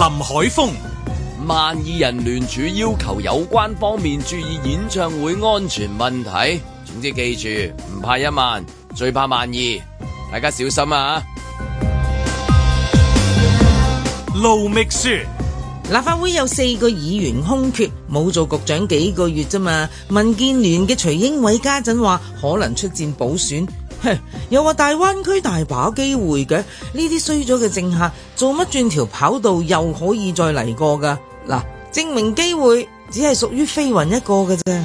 海峰。 12人聯署要求有關方面注意演唱會安全問題。總之記住，唔怕1萬，最怕12，大家小心啊！ 盧覓雪。 立法會有4個議員空缺，冇做局長幾個月啫嘛。民建聯嘅徐英偉家陣話可能出戰補選，又話大灣區大把機會嘅。呢啲衰咗嘅政客做乜轉條跑道又可以再嚟過噶？嗱，證明機會只係屬於飛雲一個嘅啫。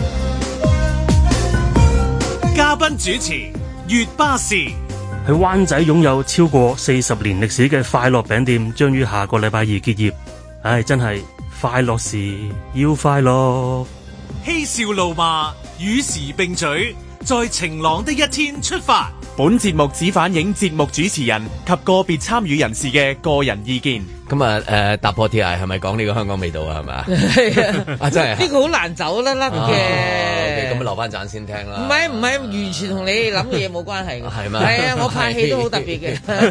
嘉賓主持月巴士。 喺灣仔擁有超過40年歷史嘅快樂餅店將於下個禮拜二結業。唉，真係快樂時要快樂， 嬉笑怒罵與時並舉，在晴朗的一天出發。 本節目只反映節目主持人及個別參與人士嘅個人意見。 咁啊，踏破鐵鞋係咪講呢個香港味道啊？係咪啊？係啊，真係呢個好難走甩甩嘅。 咁留翻陣先聽啦。 唔係，完全同你諗嘅嘢冇關係嘅。係咩？係啊，我拍戲都好特別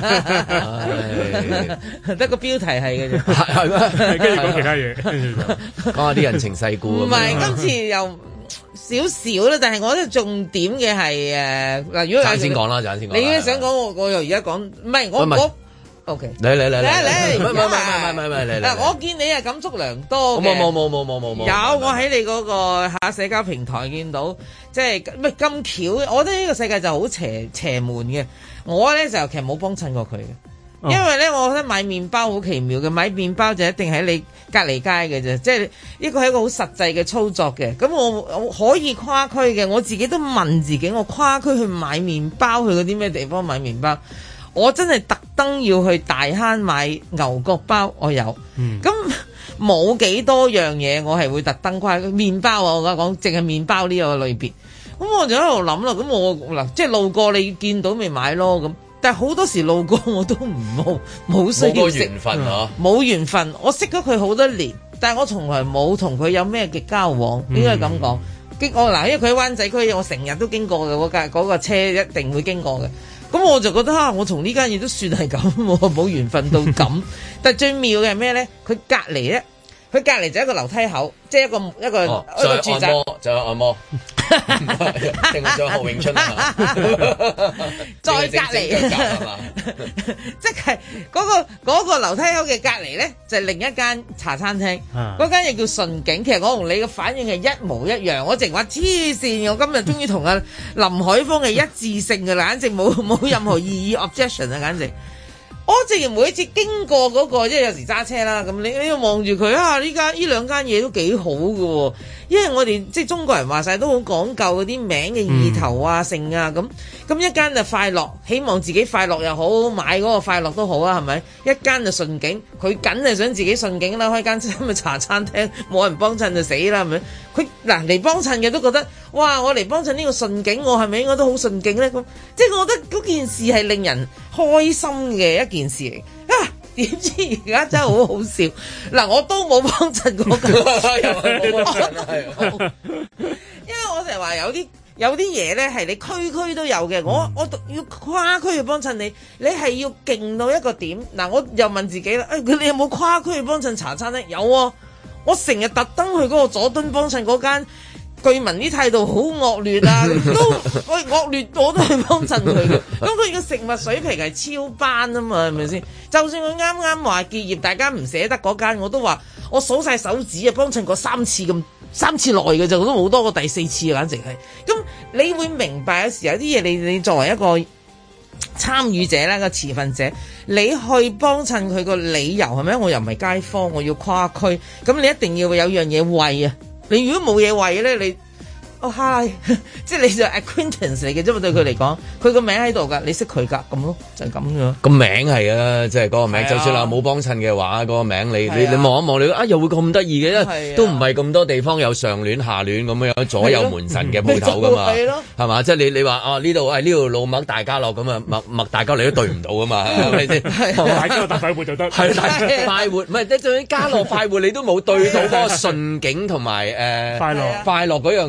嘅，得個標題係嘅啫。 係咩？跟住講其他嘢， 講下啲人情世故。 唔係，今次又少少啦，但係我覺得重點嘅係嗱，如果陣先講啦，陣先講。 你想講我又而家講，唔係我。OK，嚟， 唔係， 嗱，我見你係感觸良多嘅。冇。有，我喺你嗰個社交平台見到，即係咁巧。我覺得呢個世界就好邪門嘅。我咧就其實冇幫襯過佢嘅，因為咧我覺得買麵包好奇妙嘅，買麵包就一定喺你隔離街嘅啫，即係呢個係一個好實際嘅操作嘅。咁我可以跨區嘅，我自己都問自己，我跨區去買麵包去嗰啲咩地方買麵包？我真係特登要去大坑買牛角包，我有。咁冇幾多樣嘢，我係會特登跨麵包啊！我而家講淨係麵包呢個類別。咁我就喺度諗啦。咁我嗱，即係路過你見到咪買咯咁。但係好多時路過我都冇需要識。冇緣分啊！冇緣分，我識咗佢好多年，但係我從來冇同佢有咩嘅交往，應該咁講。嗱，因為佢喺灣仔區，我成日都經過嘅嗰個車一定會經過嘅。咁我就覺得我同呢間嘢都算係咁，冇緣分到咁。但係最妙嘅係咩咧？佢隔離就一個樓梯口，即係一個住宅， 就有按摩，定係仲有何永春啊？ 再隔離，即係嗰個樓梯口嘅隔離咧，就係另一間茶餐廳。嗰間嘢叫順景。其實我同你嘅反應係一模一樣。我淨話黐線，我今日終於同阿林海峰係一致性嘅，簡直冇任何異議 objection 啊！簡直。我直然每一次經過嗰個，即係有時揸車啦，咁你要望住佢啊！呢兩間嘢都幾好㗎喎，因為我哋即係中國人話晒都好講究嗰啲名嘅意頭啊、性啊咁一間就快樂，希望自己快樂又好，買嗰個快樂都好啊，係咪？一間就順景，佢梗係想自己順景啦，開間咁嘅茶餐廳，冇人幫襯就死啦，係咪？佢嗱嚟幫襯嘅都覺得，哇！我嚟幫襯呢個順景，我係咪應該都好順景咧？咁即係我覺得嗰件事係令人開心嘅一件事嚟啊！點知而家真係好好笑嗱，我都冇幫襯過佢，因為我成日話有啲嘢咧係你區區都有嘅，我要跨區去幫襯你，你係要勁到一個點嗱，我又問自己啦，你有冇跨區去幫襯茶餐廳？有啊，我成日特登去嗰個佐敦幫襯嗰間。據聞啲態度好惡劣啊，都惡劣我都去幫襯佢嘅。咁佢嘅食物水平係超班啊嘛，係咪先？就算佢啱啱話結業，大家唔捨得嗰間，我都話我數晒手指啊，幫襯過3次內嘅就都冇多過第4次啊，簡直係。咁你會明白有時有啲嘢你作為一個參與者啦，個持份者，你去幫襯佢個理由係咪？我又唔係街坊，我要跨區，咁你一定要有樣嘢餵啊！你如果冇嘢餵咧，你hi， 即係你就 acquaintance 嚟嘅啫嘛，對佢嚟講，佢個名喺度㗎，你識佢㗎，咁咯，就係咁樣。個名係啊，即係嗰個名，就算冇幫襯嘅話，嗰個名你望一望，你又會咁得意嘅，因為都唔係咁多地方有上聯下聯咁樣左右門神嘅鋪頭㗎嘛，係嘛？即係你話呢度老麥大家樂咁啊，麥大家樂都對唔到㗎嘛，係咪先？ 大家樂大快活就得， 係快活，唔係即係家樂快活，你都冇對到嗰個順景同埋快樂嗰樣嘢。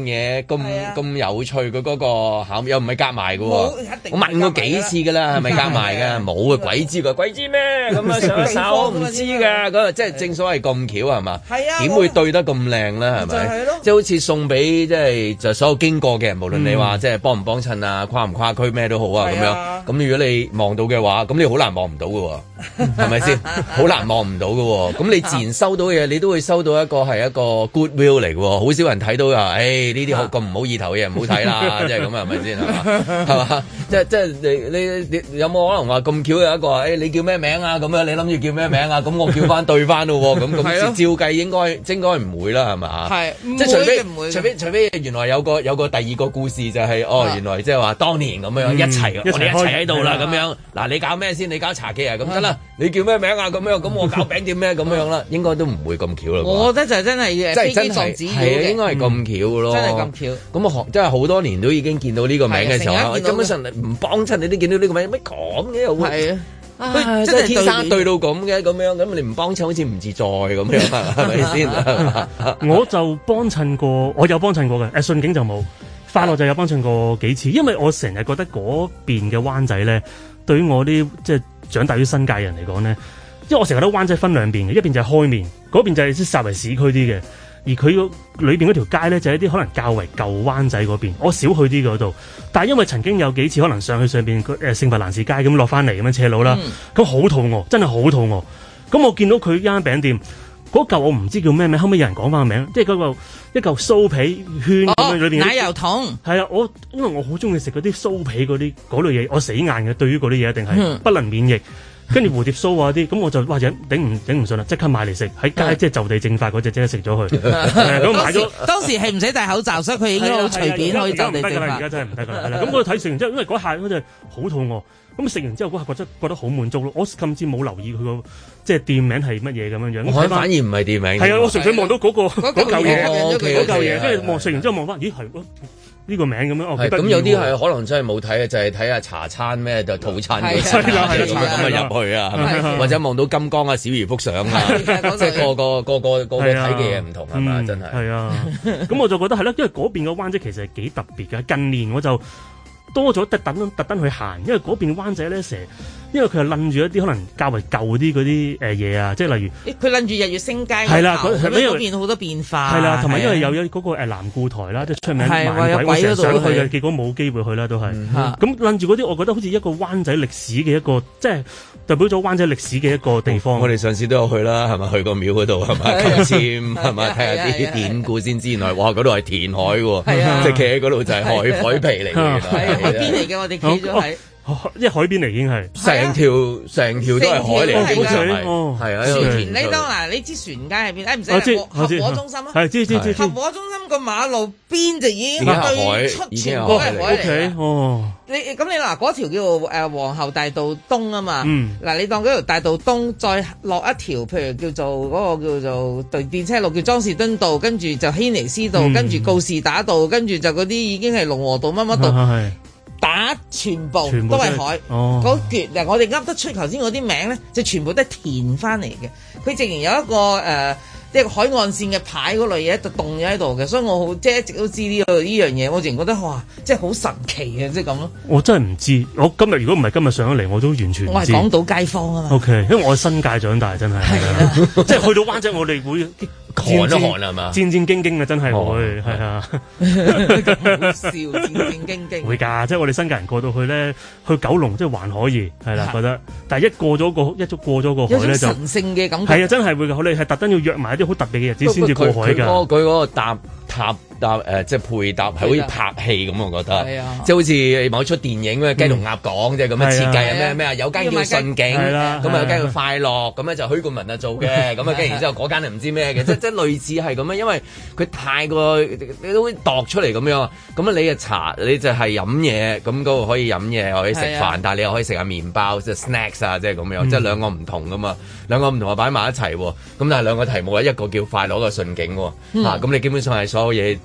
咁有趣嘅嗰個考又唔係夾埋嘅喎，我問過幾次㗎啦，係咪夾埋㗎？冇啊，鬼知咩咁啊？上一手唔知㗎，嗰即係正所謂咁巧係嘛？係啊，點會對得咁靚咧？係咪？即係好似送俾即係就所有經過嘅人，無論你話即係幫唔幫襯啊，跨唔跨區咩都好啊咁樣。咁如果你望到嘅話，咁你好難望唔到㗎喎，係咪先？好難望唔到㗎喎。咁你自然收到嘅嘢，你都會收到一個係一個 goodwill 嚟嘅喎。好少人睇到啊，呢啲咁唔好意頭嘅嘢唔好睇啦，即係咁啊，係咪先？係嘛？即係你有冇可能話咁巧有一個你叫咩名啊？咁樣你諗住叫咩名啊？咁我叫翻對翻咯喎，咁照計應該唔會啦，係嘛？係，即係除非原來有個第二個故事就係原來即係話當年咁樣一齊，我哋一齊喺度啦咁樣。嗱，你搞咩先？你搞茶記啊？咁得啦，你叫咩名啊？咁樣咁我搞餅店咩？咁樣啦，應該都唔會咁巧啦。我覺得就真係飛機撞紙鷂嘅，應該係咁巧嘅咯。真係咁巧。咁啊，真係好多年都已經見到呢個名嘅時候，根本上唔幫襯你都見到呢個名，乜咁嘅又係啊？即係天生對到咁嘅咁樣，咁你唔幫襯好似唔自在咁樣，係咪先？ 我就幫襯過，我有幫襯過嘅，順景就冇。快樂就有幫襯過幾次，因為我成日覺得嗰邊嘅灣仔咧，對於我啲即係長大於新界人嚟講咧，因為我成日覺得灣仔分兩邊嘅，一邊就係開面，嗰邊就係稍為市區啲嘅，而佢裏邊嗰條街咧就係一啲可能較為舊灣仔嗰邊，我少去啲嗰度，但係因為曾經有幾次可能上去上邊聖弗蘭士街咁落翻嚟咁樣斜路啦，咁好肚餓，真係好肚餓，咁我見到佢間餅店。嗰嚿我唔知叫咩名，後尾有人講翻個名，即係嗰個一嚿酥皮圈咁樣裏邊奶油桶。係啊， 因為我好中意食嗰啲酥皮嗰類嘢，我死硬嘅，對於嗰啲嘢一定係不能免疫。跟住蝴蝶酥啊啲，咁我就哇頂唔順啦，即刻買嚟食，喺街即係就地正法嗰隻即刻食咗佢。咁買咗當時係唔使戴口罩，所以佢應該好隨便可以就地正法。而家真係唔得㗎啦，係啦。咁我睇食完之後，因為嗰下嗰隻好肚餓，咁食完之後嗰下覺得好滿足咯。我甚至冇留意佢個即係店名係乜嘢咁樣樣。 我反而唔係店名。係啊， 我純粹望到嗰嚿嘢，跟住食完之後望翻，咦係呢個名咁樣。 咁有啲係可能真係冇睇嘅，就係睇下茶餐咩就套餐嗰啲咁啊入去啊，或者望到金剛啊、小魚幅相啊，即係個睇嘅嘢唔同係嘛？真係。係啊， 咁我就覺得係啦，因為嗰邊嘅灣仔其實係幾特別嘅。近年我就多咗特登去行，因為嗰邊灣仔咧成日，因為佢係諗住一啲可能較為舊啲嗰啲嘢啊，即係例如佢諗住日月星街係啦， 嗰邊好多變化係啦，同埋因為有嗰個南固台啦，即係出名猛鬼，我成日想去嘅，結果冇機會去啦，都係咁諗住嗰啲，我覺得好似一個灣仔歷史嘅一個，即係代表咗灣仔歷史嘅一個地方。 我哋上次都有去啦，係咪去個廟嗰度係咪求籤係咪睇下啲典故先知？原來哇嗰度係填海喎，即係企喺嗰度就係海皮嚟嘅。 海邊嚟嘅，我哋企咗喺， 即係海邊嚟已經係成條都係海嚟，基本上係啊。 船你當嗱，你知船街喺邊？唔使合和中心啊， 係知合和中心個馬路邊就已經對出全部都係海嚟。哦，你嗱嗰條叫做皇后大道東啊嘛。嗱你當嗰條大道東再落一條，譬如叫做嗰個叫做電車路叫莊士敦道，跟住就軒尼詩道，跟住告士打道，跟住就嗰啲已經係龍和道乜乜道。打全部都係海，嗰橛嗱我哋噏得出頭先嗰啲名咧，就全部都係填翻嚟嘅。佢竟然有一個即係海岸線嘅牌嗰類嘢就凍咗喺度嘅，所以我好即係一直都知呢樣嘢，我淨覺得哇，即係好神奇嘅，即係咁咯。我真係唔知，我今日如果唔係今日上咗嚟，我都完全唔知。我係港島街坊啊嘛。OK，因為我係新界長大，真係即係去到灣仔，我哋會寒一寒係嘛？戰戰兢兢啊，真係會係啊，好笑，戰戰兢兢。會㗎，即係我哋新界人過到去咧，去九龍即係還可以係啦，覺得。但係一過咗個海咧，就神聖嘅感覺。係啊，真係會㗎，你係特登要約埋一啲好特別嘅日子先至過海㗎。佢嗰個搭即係配搭係好似拍戲咁，我覺得，即係好似某出電影咩雞同鴨講即係咁嘅設計啊，咩有間叫順景，咁啊有間叫快樂，咁咧就許冠文啊做嘅，咁啊跟住然之後嗰間係唔知咩嘅，即係類似係咁樣，因為佢太過你都會度出嚟咁樣，咁啊你嘅茶你就係飲嘢，咁嗰個可以飲嘢可以食飯，但係你又可以食下麵包即係 snacks 啊，即係咁樣，即係兩個唔同噶嘛，兩個唔同啊擺埋一齊喎，咁但係兩個題目咧，一個叫快樂，一個順景喎，咁你基本上係所有嘢。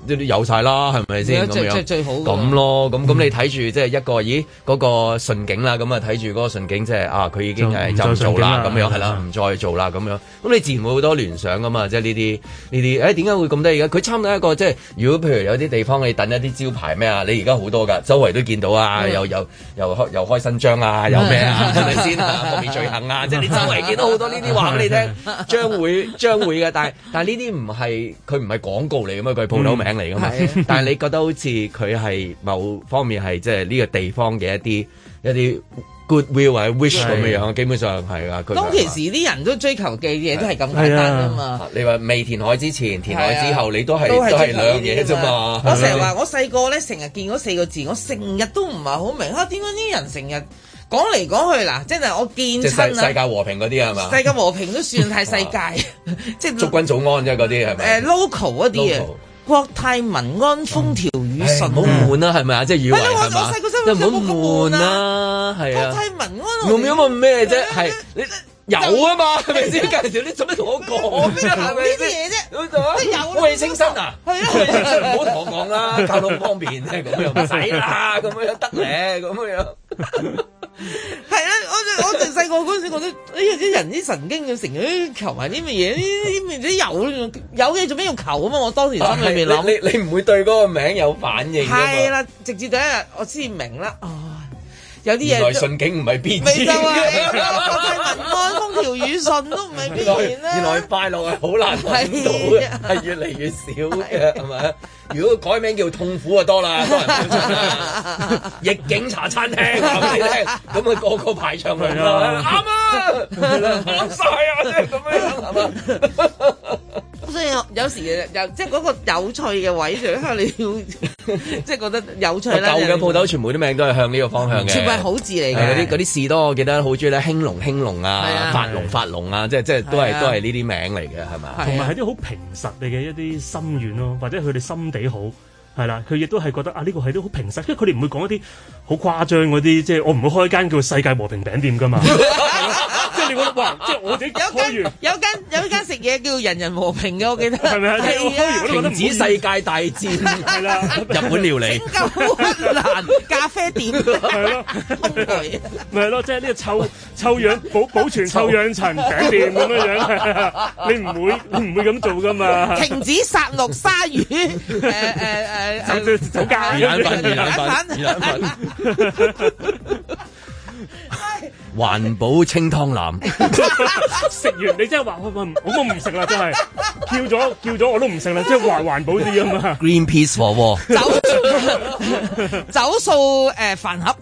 都有晒啦，係咪先咁樣？ 最好咁咯，咁你睇住即係一個嗰個順境啦，咁啊睇住嗰個順境即係佢已經係就唔做啦，咁樣係啦，唔再做啦，咁樣。咁你自然會好多聯想噶嘛，即係呢啲點解會咁得意嘅？佢差唔多一個即係，如果譬如有啲地方你等一啲招牌咩啊，你而家好多㗎，周圍都見到啊，又開新章啊，有咩啊，係咪先啊？方面罪行啊，即係你周圍見到好多呢啲話俾你聽，將會嘅，但係呢啲唔係佢唔係廣告嚟㗎嘛，佢係鋪頭名嚟㗎嘛。但係你覺得好似佢係某方面係即係呢個地方嘅一啲 goodwill 或者 wish 咁樣，基本上係㗎。 當其時啲人都追求嘅嘢都係咁簡單㗎嘛。 你話未填海之前、填海之後，你都係兩樣嘢啫嘛。 我成日話我細個咧，成日見嗰4個字，我成日都唔係好明點解啲人成日講嚟講去嗱，即係我見親世界和平嗰啲係嘛？世界和平都算係世界，即係祝君早安啫嗰啲係咪 ？local 嗰啲啊。國泰民安風調雨順， 唔好悶啦，係咪啊？即係以為係嘛？ 我細個真係唔好悶啦，係啊！ 國泰民安， 用咗咩啫？係你有啊嘛？係咪先？介紹你做咩同我講咩？係咪呢啲嘢啫？即係有空氣清新啊！ 係啊， 唔好同我講啦，交通方便啫，咁樣唔使啦，咁樣得咧，咁樣。 係啊，我哋細個嗰陣時覺得，啲人啲神經要成日求埋啲乜嘢？呢啲有嘅做咩要求啊嘛？我當時心裏面諗， 你唔會對嗰個名有反應㗎嘛？ 係啦，直至第一日我先明啦。有啲嘢原來順境唔係必然嘅， 國泰民安風調雨順都唔係必然啦。 原來快樂係好難揾到嘅，係越嚟越少嘅，係咪？如果改名叫痛苦就多啦，多人歡迎啦。逆境茶餐廳話俾你聽，咁個個排長龍啦，啱啊，啱曬啊，即係咁樣係嘛？ 所以有時即係嗰個有趣嘅位，就係你要即係覺得有趣啦。 舊嘅鋪頭全部啲名都係向呢個方向嘅， 全部係好字嚟嘅。 嗰啲士多我記得好中意咧，興隆啊，發龍啊，即係都係呢啲名嚟嘅，係咪？ 同埋係啲好平實嘅一啲心願咯，或者佢哋心地好。係啦，佢亦都係覺得呢個係啲好平實，因為佢哋唔會講一啲好誇張嗰啲，即係我唔會開間叫世界和平餅店㗎嘛。即係你覺得哇，即係我自己開完有間食嘢叫人人和平嘅，我記得係咪啊？ 停止世界大戰係啦，日本料理、 新加坡蘭咖啡店係咯， 咪係咯，即係呢個臭氧保存臭氧層餅店咁樣，你唔會咁做㗎嘛？ 停止殺戮鯊魚酒家魚蛋粉，環保清湯腩， 食完你真係話我都唔食啦，真係叫咗我都唔食啦，即係環保啲啊嘛。 Greenpeace 火鍋， 走數飯盒。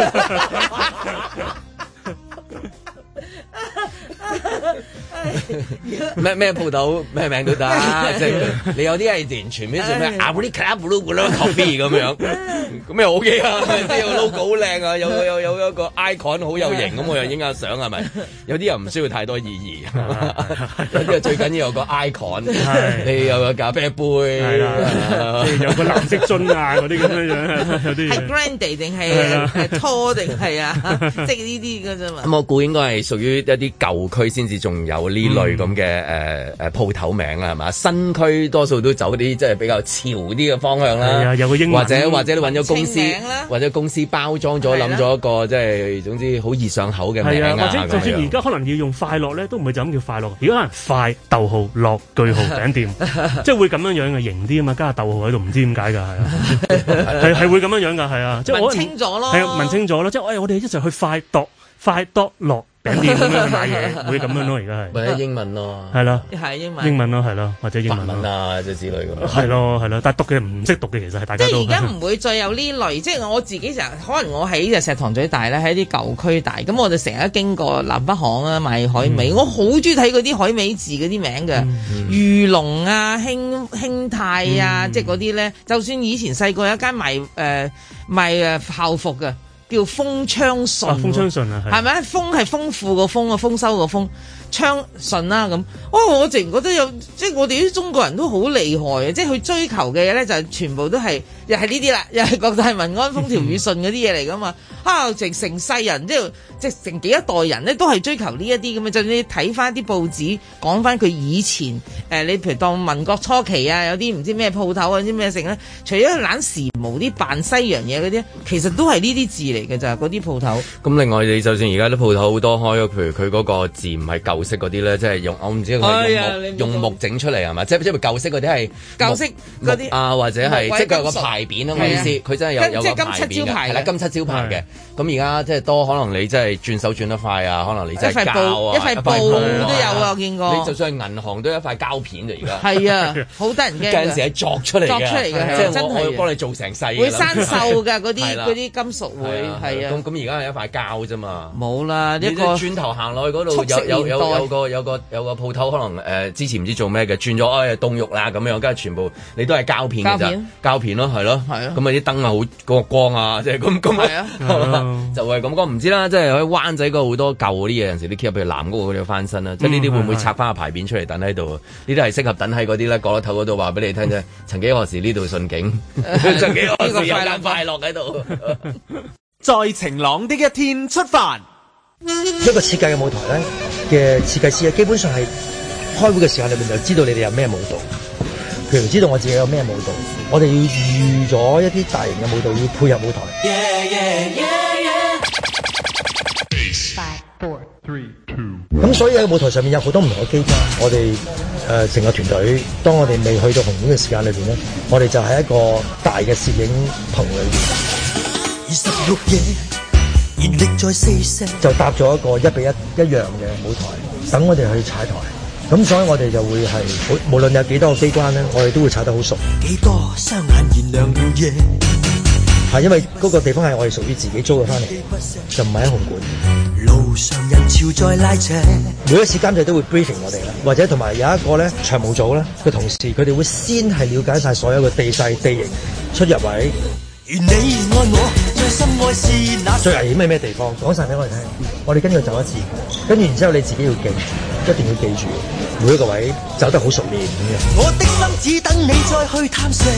咩鋪頭咩名都得，即係你有啲係完全咩做咩阿布利卡布魯布魯 coffee 咁樣，咁又 OK 啊，即係個 logo 好靚啊，有一個 icon 好有型，咁我又影下相係咪？有啲又唔需要太多意義，有啲最緊要有個 icon，你有個咖啡杯， 有個藍色樽啊嗰啲咁樣樣，有啲係 grande 定係 tall 定係啊，即係呢啲㗎啫嘛。 咁我估應該係屬於一啲舊區先至仲有呢類咁嘅鋪頭名啦，係嘛？新區多數都走啲即係比較潮啲嘅方向啦， 有個英文或者你揾咗公司或者公司包裝咗諗咗一個即係總之好易上口嘅名啊， 或者就算而家可能要用快樂咧，都唔會就咁叫快樂，而家可能快逗號樂句號餅店，即係會咁樣樣嘅型啲啊嘛，加個逗號喺度，唔知點解㗎，係啊，係會咁樣樣㗎，係啊，即係問清咗咯， 係問清咗咯，即係我哋一齊去快樂餅店咁樣去買嘢，會咁樣咯，而家係或者英文咯， 係咯， 係英文咯，係咯，或者英文啊，即係之類咁。 係咯，但係讀嘅唔識讀嘅，其實係大家都即係而家唔會再有呢類，即係我自己成日可能我喺石塘咀大咧，喺啲舊區大，咁我就成日經過南北行啊賣海味，我好中意睇嗰啲海味字嗰啲名嘅，裕隆啊、興泰啊，即係嗰啲咧，就算以前細個有一間賣校服嘅。叫豐昌順， 豐昌順啊， 係咪？豐係豐富個豐啊，豐收個豐，昌順啦咁。哦，我淨覺得有，即係我哋啲中國人都好厲害嘅，即係佢追求嘅嘢咧，就全部都係又係呢啲啦，又係國泰民安風調雨順嗰啲嘢嚟噶嘛。成世人即係成幾一代人咧，都係追求呢一啲咁嘅。就你睇翻啲報紙，講翻佢以前你譬如當民國初期啊，有啲唔知咩鋪頭啊，啲咩剩咧，除咗懶時髦啲扮西洋嘢嗰啲，其實都係呢啲字嚟嘅咋，嗰啲鋪頭。 咁另外你就算而家啲鋪頭好多開，譬如佢嗰個字唔係舊式嗰啲咧，即係我唔知佢用木整出嚟係嘛？即係舊式嗰啲係舊式嗰啲啊，或者係即係佢有個牌匾啊，我意思佢真係有個牌匾嘅，係啦，金漆招牌嘅。咁而家即係多可能你真係轉手轉得快啊，可能你真係膠啊， 一塊布都有啊，我見過。 你就算係銀行都有一塊膠片啫，而家係啊，好得人驚。 有陣時係作出嚟嘅，即係我幫你做成細。 會生鏽㗎，嗰啲金屬會係啊。 咁而家係一塊膠啫嘛。 冇啦， 一個轉頭行落去嗰度有個鋪頭，可能之前唔知做咩嘅，轉咗凍肉啦咁樣，跟住全部你都係膠片嘅咋，膠片咯，係咯，咁啊啲燈啊好個光啊，即係咁。就係咁講，唔知啦，即係喺灣仔嗰好多舊嗰啲嘢，有陣時啲 keep 譬如藍屋嗰啲翻身啦，即係呢啲會唔會拆翻個牌匾出嚟等喺度？呢啲係適合等喺嗰啲咧角落頭嗰度話俾你聽啫。曾幾何時呢度順景，曾幾何時有間快樂喺度。 在晴朗的一天出發， 一個設計嘅舞台咧嘅設計師基本上係開會嘅時間裏面就知道你哋有咩舞蹈。譬如知道我自己有咩舞蹈，我哋要預咗一啲大型嘅舞蹈要配合舞台。咁所以喺舞台上面有好多唔同嘅機關。我哋成個團隊，當我哋未去到紅館嘅時間裏邊咧，我哋就喺一個大嘅攝影棚裏邊，就搭咗一個1:1一樣嘅舞台，等我哋去踩台。咁所以我哋就會係無論有幾多個機關咧，我哋都會踩得好熟。幾多雙眼燃亮了夜，係因為嗰個地方係我哋屬於自己租嘅翻嚟，就唔係喺紅館。路上人潮在拉扯，每一次監製都會 briefing 我哋啦，或者同埋有一個咧場務組咧嘅同事，佢哋會先係了解晒所有嘅地勢、地形、出入位。願你愛我，最深愛是那最危險係咩地方？講晒俾我哋聽，我哋跟住走一次，跟住然之後你自己要記住，一定要記住每一個位走得好熟練咁樣。我的心只等你再去探索。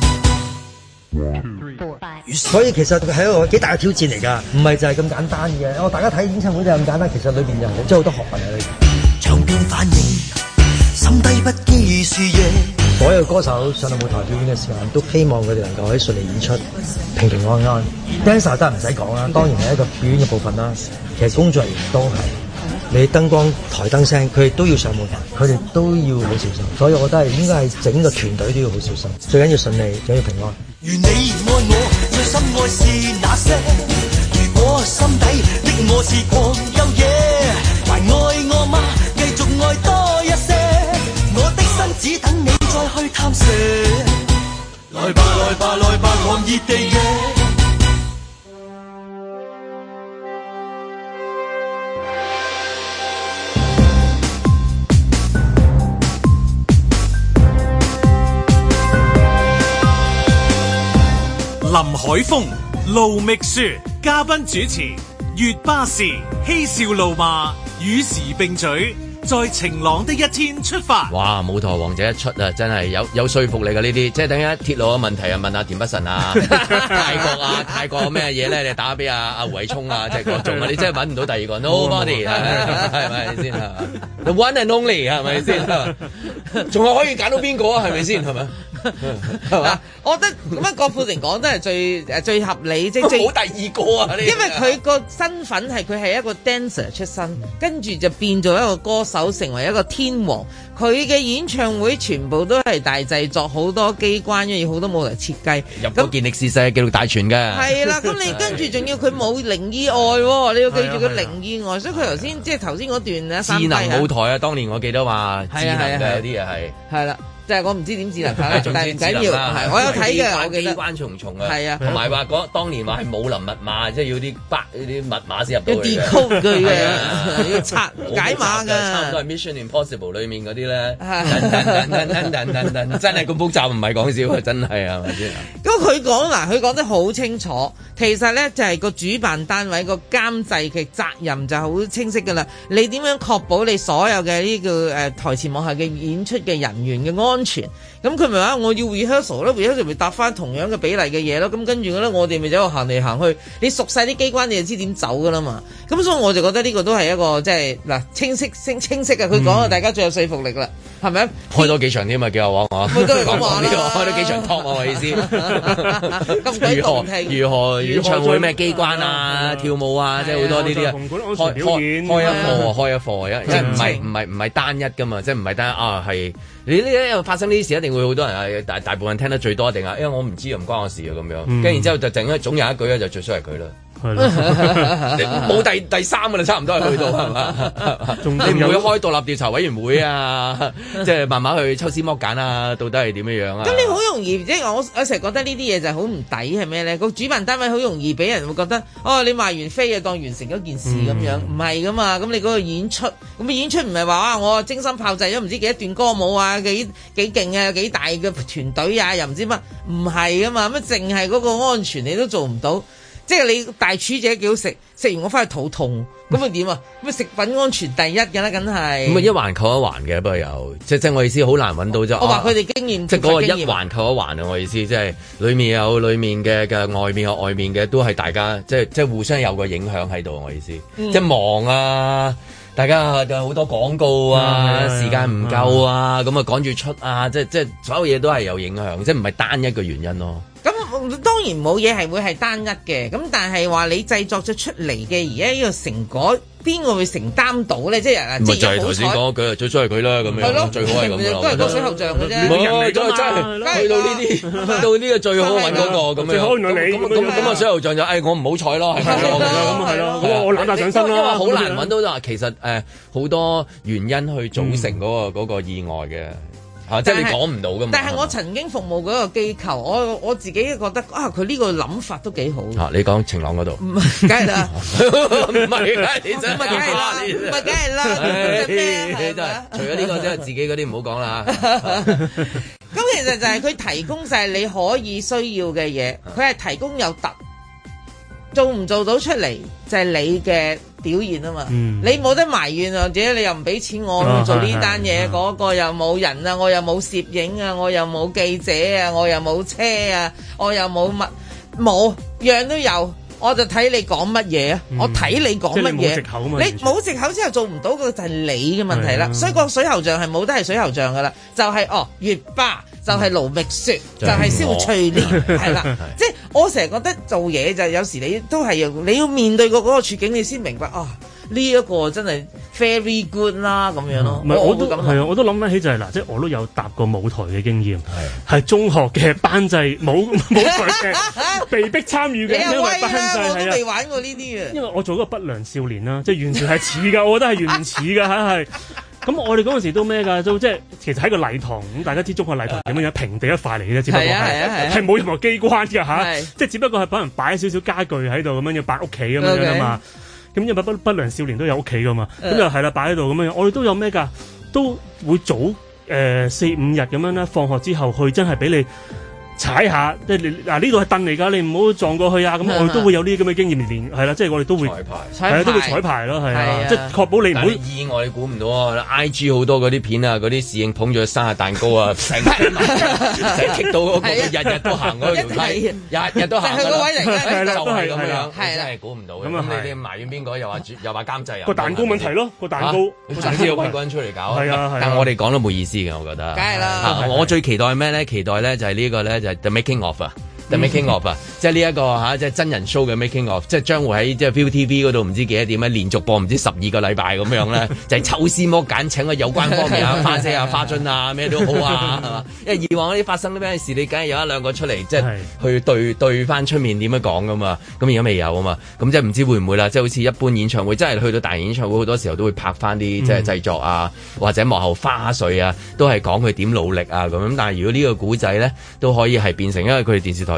所以其實係一個幾大嘅挑戰嚟㗎，唔係就係咁簡單嘅。大家睇演唱會就係咁簡單，其實裏邊有真係好多學問喺裏邊。唱片反應，心低不羈視野。所有歌手上到舞台表演嘅時間，都希望佢哋能夠可以順利演出，平平安安。Dancer 都係唔使講啦，當然係一個表演嘅部分啦。其實工作人員都係，你燈光、台燈聲，佢哋都要上舞台，佢哋都要好小心。所以我覺得係應該係整個團隊都要好小心，最緊要順利，最緊要平安。願你愛我，最深愛是那些。如果心底的我是狂又野，還愛我嗎？繼續愛多一些。我的心只等你再去探索。來吧來吧來吧，狂熱地野。 林海峰、盧覓雪，嘉賓主持，粵巴士，嬉笑怒罵，與時並舉，在晴朗的一天出發。 哇！舞台王者一出啊，真係有說服力嘅呢啲，即係等一鐵路嘅問題啊，問下田北辰啊，泰國咩嘢咧？你打俾阿胡偉聰啊，即係各種啊，你真係揾唔到第二個 nobody 係咪先啊？The one and only 係咪先？仲係可以揀到邊個啊？係咪先？係咪？係嘛？ 我覺得咁樣郭富城講真係最合理，即係冇第二個啊！ 因為佢個身份係佢係一個 dancer 出身，跟住就變做一個歌手，成為一個天王。佢嘅演唱會全部都係大製作，好多機關，因為好多舞台設計， 入過健力士世界紀錄大全嘅。 係啦，咁你跟住仲要佢冇零意外喎，你要記住佢零意外，所以佢頭先即係頭先嗰段咧， 智能舞台啊，當年我記得話智能嘅有啲嘢係啦。即係我唔知點智能化啦，但係唔緊要，係我有睇嘅，我記得機關重重啊，係啊，同埋話當年話係武林密碼，即係要啲密碼先入到去嘅，要 decode 佢嘅，要拆解碼㗎，差唔多係 Mission Impossible 裡面嗰啲咧，真係咁複雜，唔係講笑啊，真係係咪先？ 咁佢講得好清楚，其實咧就係個主辦單位個監製嘅責任就好清晰噶啦。你點樣確保你所有嘅呢個台前幕後嘅演出嘅人員嘅安全？咁佢咪話我要 rehearsal 咯，rehearsal 咪搭翻同樣嘅比例嘅嘢咯。咁跟住咧，我哋咪就喺度行嚟行去。你熟晒啲機關，你就知點走噶啦嘛。咁所以我就覺得呢個都係一個即係嗱清晰嘅。佢講啊，大家最有說服力啦，係咪？ 開多幾場添嘛，幾有講佢都係咁話啦， 開多幾場 talk 我意思。如何演唱會咩機關啊、跳舞啊，即係好多呢啲啊。開一課，即係唔係單一噶嘛，即係唔係單一啊係。你呢發生呢啲事，一定會好多人大部分人聽得最多，定係因為我唔知唔關我事啊咁樣。跟住然之後就總有一句咧，就最衰係佢啦。係咯，冇第三個啦，差唔多係去到係嘛？你唔會開獨立調查委員會啊？即係慢慢去抽絲剝繭啊？到底係點樣啊？ 咁你好容易即係我成日覺得呢啲嘢就係好唔抵係咩咧？個主辦單位好容易俾人會覺得哦，你賣完飛啊當完成咗件事咁樣，唔係噶嘛？咁你嗰個演出咁演出唔係話我精心炮製咗唔知幾多段歌舞啊，幾勁啊，幾大嘅團隊啊，又唔知乜，唔係噶嘛？乜淨係嗰個安全你都做唔到？即係你大廚姐幾好食，食完我翻去肚痛，咁咪點啊？咁食品安全第一嘅啦，梗係。咁啊一環扣一環嘅，不過又即係我意思好難揾到啫。我話佢哋經驗，即係嗰個一環扣一環啊！我意思即係裡面有裡面嘅外面有外面嘅，都係大家即係互相有個影響喺度。我意思，即係忙啊，大家有好多廣告啊，時間唔夠啊，咁啊趕住出啊，即係所有嘢都係有影響，即係唔係單一個原因咯。咁當然冇嘢係會係單一嘅，咁但係話你製作咗出嚟嘅而家呢個成果，邊個會承擔到咧？即係即係頭先講句，最衰係佢啦，咁樣係咯，最好係咁樣，都係個水喉匠嘅啫。唔係，真係去到呢啲，到呢個最好揾嗰個咁樣。最好原來你咁啊，水喉匠就我唔好彩咯，係咪咯？咁係咯，我攬大上身咯。因為好難揾到就話其實好多原因去組成嗰個意外嘅。即係你講唔到㗎嘛？但係我曾經服務嗰個機構，我自己覺得佢呢個諗法都幾好。你講晴朗嗰度？唔係，梗係啦，唔係，梗係啦，唔係，梗係啦，咩？除咗呢個，即係自己嗰啲唔好講啦。咁其實就係佢提供晒你可以需要嘅嘢，佢係提供有特，做唔做到出嚟就係你嘅表現啊嘛，你冇得埋怨啊，或者你又唔俾錢我做呢單嘢，嗰個又冇人啊，我又冇攝影啊，我又冇記者啊，我又冇車啊，我又冇乜冇樣都有，我就睇你講乜嘢啊，我睇你講乜嘢，你冇藉口之後做唔到嘅就係你嘅問題啦，所以個水喉匠係冇得係水喉匠噶啦，就係月巴。就係盧覓雪，就係蕭翠蓮，係啦，即係我成日覺得做嘢就有時你都係你要面對過嗰個處境，你先明白呢一個真係 very good 啦咁樣咯。唔係我都係啊，我都諗翻起就係嗱，即係我都有搭過舞台嘅經驗，係中學嘅班際舞台嘅被逼參與嘅，因為班際我都未玩過呢啲嘅。因為我做嗰個不良少年啦，即係完全係似㗎，我覺得係完全似㗎嚇係。咁我哋嗰陣時都咩㗎？都即係其實喺個禮堂咁，大家知中學禮堂點樣平地一塊嚟嘅啫，只不過係冇任何機關㗎嚇，即係只不過係可能擺少少家具喺度咁樣，要擺屋企咁樣㗎嘛。咁因為不良少年都有屋企㗎嘛，咁就係啦，擺喺度咁樣。我哋都有咩㗎？都會早4-5日咁樣咧，放學之後去真係俾你踩下，即係嗱呢度係凳嚟㗎，你唔好撞過去啊！咁我哋都會有呢啲咁嘅經驗，連係啦，即係我哋都會彩排，都會彩排咯，係啊，即係確保你唔會意外，你估唔到啊！IG 好多嗰啲片啊，嗰啲侍應捧住生日蛋糕啊，成日棘到嗰個，日日都行嗰條梯，日日都行，就係嗰位嚟嘅，就係咁樣，真係估唔到。咁你哋埋怨邊個？又話監製啊？個蛋糕問題咯，個蛋糕，總之要揾個人出嚟搞。係啊，但係我哋講都冇意思嘅，我覺得。梗係啦。我最期待係咩咧？期待咧就係呢個咧就The Making Of 啊，The Making Of 啊，即係呢一個即係真人 show 嘅 Making Of， 即係將會喺即係 ViuTV 嗰度唔知幾多點咧，連續播唔知12個禮拜咁樣咧，就係抽絲剝繭請個有關方面啊，花姐啊、花樽啊，咩都好啊，係嘛？因為以往嗰啲發生啲咩事，你梗係有一兩個出嚟，即係去對翻出面點樣講噶嘛？咁而家未有啊嘛？咁即係唔知會唔會啦？即係好似一般演唱會，真係去到大型演唱會，好多時候都會拍翻啲即係製作啊，或者幕後花絮啊，都係講佢點努力啊咁。但係如果呢個古仔咧，都可以係變成，因為佢哋電視台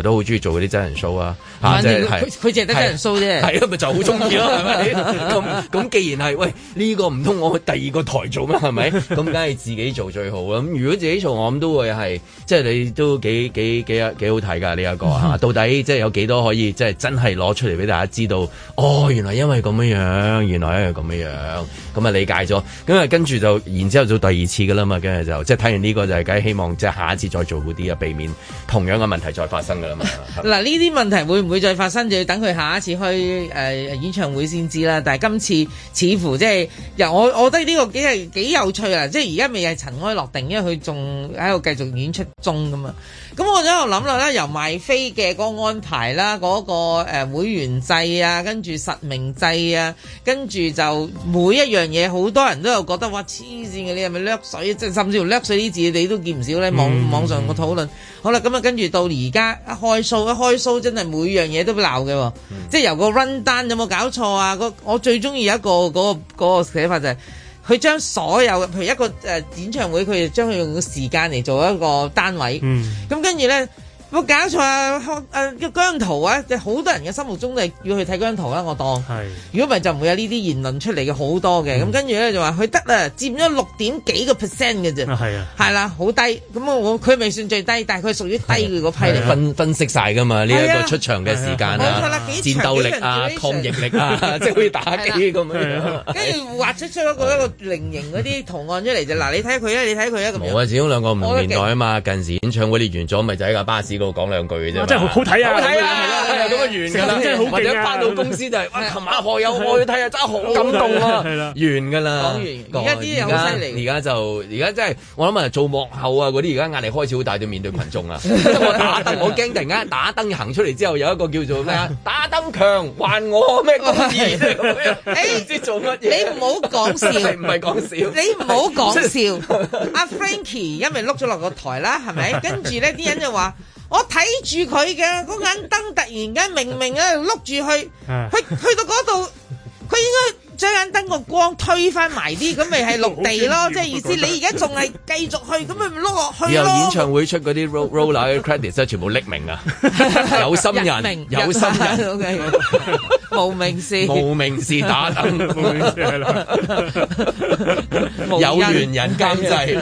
來都好中意做嗰啲真人 show 啊， 即係佢淨係得真人 show 啫， 係啊，咪就好中意咯，係咪？咁既然係喂呢個唔通我去第二個台做咩？係咪？咁梗係自己做最好啦。咁如果自己做，我諗都會係即係你都幾好睇㗎呢一個嚇。到底即係有幾多可以即係真係攞出嚟俾大家知道？哦，原來因為咁樣，原來因為咁樣，咁啊理解咗。咁啊跟住就然之後做第二次㗎啦嘛，跟住就即係睇完呢個就係梗係希望即係下一次再做好啲啊，避免同樣嘅問題再發生㗎啦嘛。 嗱，呢啲問題會唔會再發生，就要等佢下一次開演唱會先知啦。但係今次似乎即係我覺得呢個幾有趣啊！即係而家未係塵埃落定，因為佢仲喺度繼續演出中㗎嘛。咁我就喺度諗啦，由賣飛嘅嗰個安排啦，嗰個會員制啊，跟住實名制啊，跟住就每一樣嘢，好多人都有覺得哇黐線嘅，你係咪掠水？即係甚至乎掠水啲字你都見唔少咧，網上個討論。好啦，咁啊跟住到而家一開 show 真係每樣嘢都鬧嘅，即係由個 run down 有冇搞錯啊？我最中意有一個嗰個寫法就係佢將所有譬如一個演唱會，佢就將佢用個時間嚟做一個單位，咁跟住咧。冇搞錯啊！姜濤啊，即係好多人嘅心目中都係要去睇姜濤啦。我當，如果唔係就唔會有呢啲言論出嚟嘅好多嘅。咁跟住咧就話佢得啦，佔咗6點幾個 percent 嘅啫。係啦，好低。咁佢未算最低，但係佢係屬於低嘅嗰批嚟。分析晒㗎嘛？呢一個出場嘅時間啊，戰鬥力啊，抗逆力啊，即係好似打機咁樣。跟住畫出一個菱形嗰啲圖案出嚟就嗱，你睇佢啊，你睇佢啊咁。冇啊，始終兩個唔同年代啊嘛。近時演唱會你完咗，咪就喺架巴士度講兩句嘅啫，真係好睇啊！好睇啊！咁啊完㗎啦，真係好勁啊！或者翻到公司就係哇，琴晚何有我去睇啊，真係好感動啊！完㗎啦，講完。而家啲嘢好犀利。而家真係我諗啊，做幕後啊嗰啲，而家壓力開始好大，要面對群眾啊！我打燈，我驚突然間打燈行出嚟之後，有一個叫做咩啊？打燈強還我咩公義啫咁樣？唔知做乜嘢？你唔好講笑，唔係講笑。你唔好講笑。阿 Frankie 因為碌咗落個台啦，係咪？跟住咧啲人就話。我睇住佢嘅嗰眼燈，突然間明明啊碌住去到嗰度，佢應該將眼燈個光推翻埋啲，咁咪係陸地咯，即係意思。你而家仲係繼續去，咁咪碌落去咯。以後演唱會出嗰啲 roller 嘅 credits 全部匿名啊，有心人，有心人，OK， 無名氏，無名氏打燈，有緣人監製，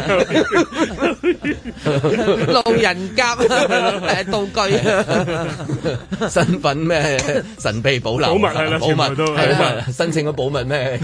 路人甲道具，身份咩神秘保留，保密係啦，保密申請咗保密咩？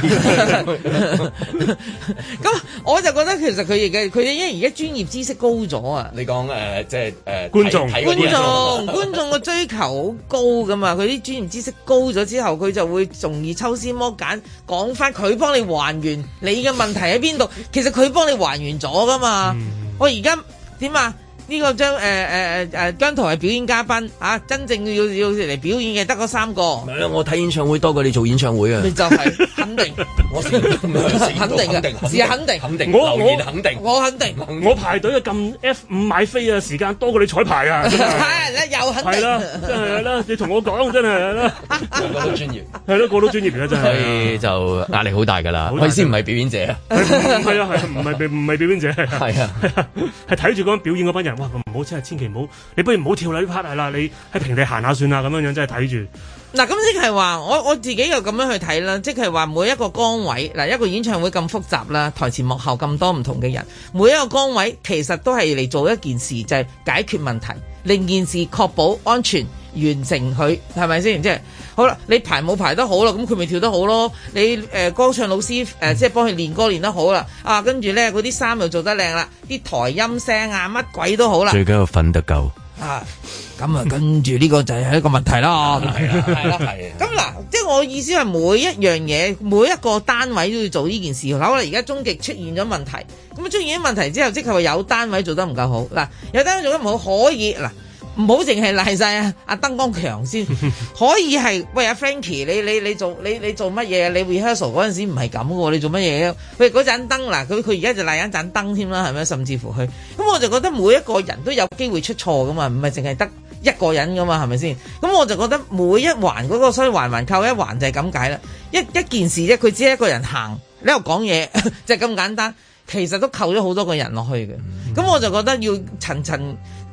咁我就覺得其實佢哋因為而家專業知識高咗啊！你講即係觀眾嘅追求好高噶嘛？佢啲專業知識高咗之後，佢就會容易抽絲剝繭，講翻佢幫你還原你嘅問題喺邊度。其實佢幫你還原咗噶嘛？我而家點啊？呢個姜濤係表演嘉賓啊！真正要嚟表演嘅得嗰3個。唔係啦，我睇演唱會多過你做演唱會啊！你就係肯定，我肯定嘅，是肯定，留言肯定，我肯定，我排隊啊撳 F5買飛啊，時間多過你彩排啊！係又肯定，係啦，真係啦，你同我講真係啦，個個都專業，係咯，個個都專業而家真係，所以就壓力好大㗎啦。我意思唔係表演者啊，係啊，唔係表演者，係啊，係睇住嗰表演嗰班人。哇！唔好真係千祈唔好，你不如唔好跳啦呢 part 係啦，你喺平地行下算啦，咁樣樣真係睇住。嗱，咁即係話我自己又咁樣去睇啦，即係話每一個崗位，嗱，一個演唱會咁複雜啦，台前幕後咁多唔同嘅人，每一個崗位其實都係嚟做一件事，就係解決問題，令件事確保安全，完成佢，係咪先？即係好啦，你排舞排得好啦，咁佢咪跳得好咯。你歌唱老師即係幫佢練歌練得好啦，啊，跟住咧嗰啲衫又做得靚啦，啲台音聲啊乜鬼都好啦。最緊要瞓得夠啊！咁啊，跟住呢個就係一個問題啦。係啦，係。咁嗱，即係我意思係每一樣嘢，每一個單位都要做呢件事。好啦，而家終極出現咗問題，咁出現咗問題之後，即係話有單位做得唔夠好。嗱，有單位做得唔好，可以嗱。唔好淨係賴晒阿燈光強先，可以係喂阿 Frankie，你做乜嘢？你 rehearsal 嗰陣時唔係咁嘅喎，你做乜嘢？喂嗰盞燈嗱，佢而家就賴一盞燈添啦，係咪？甚至乎佢咁，我就覺得每一個人都有機會出錯噶嘛，唔係淨係得一個人噶嘛，係咪先？咁我就覺得每一環嗰個，所以環環扣一環就係咁解啦。一件事啫，佢只係一個人行，你喺度講嘢就係咁簡單，其實都扣咗好多個人落去嘅。咁我就覺得要層層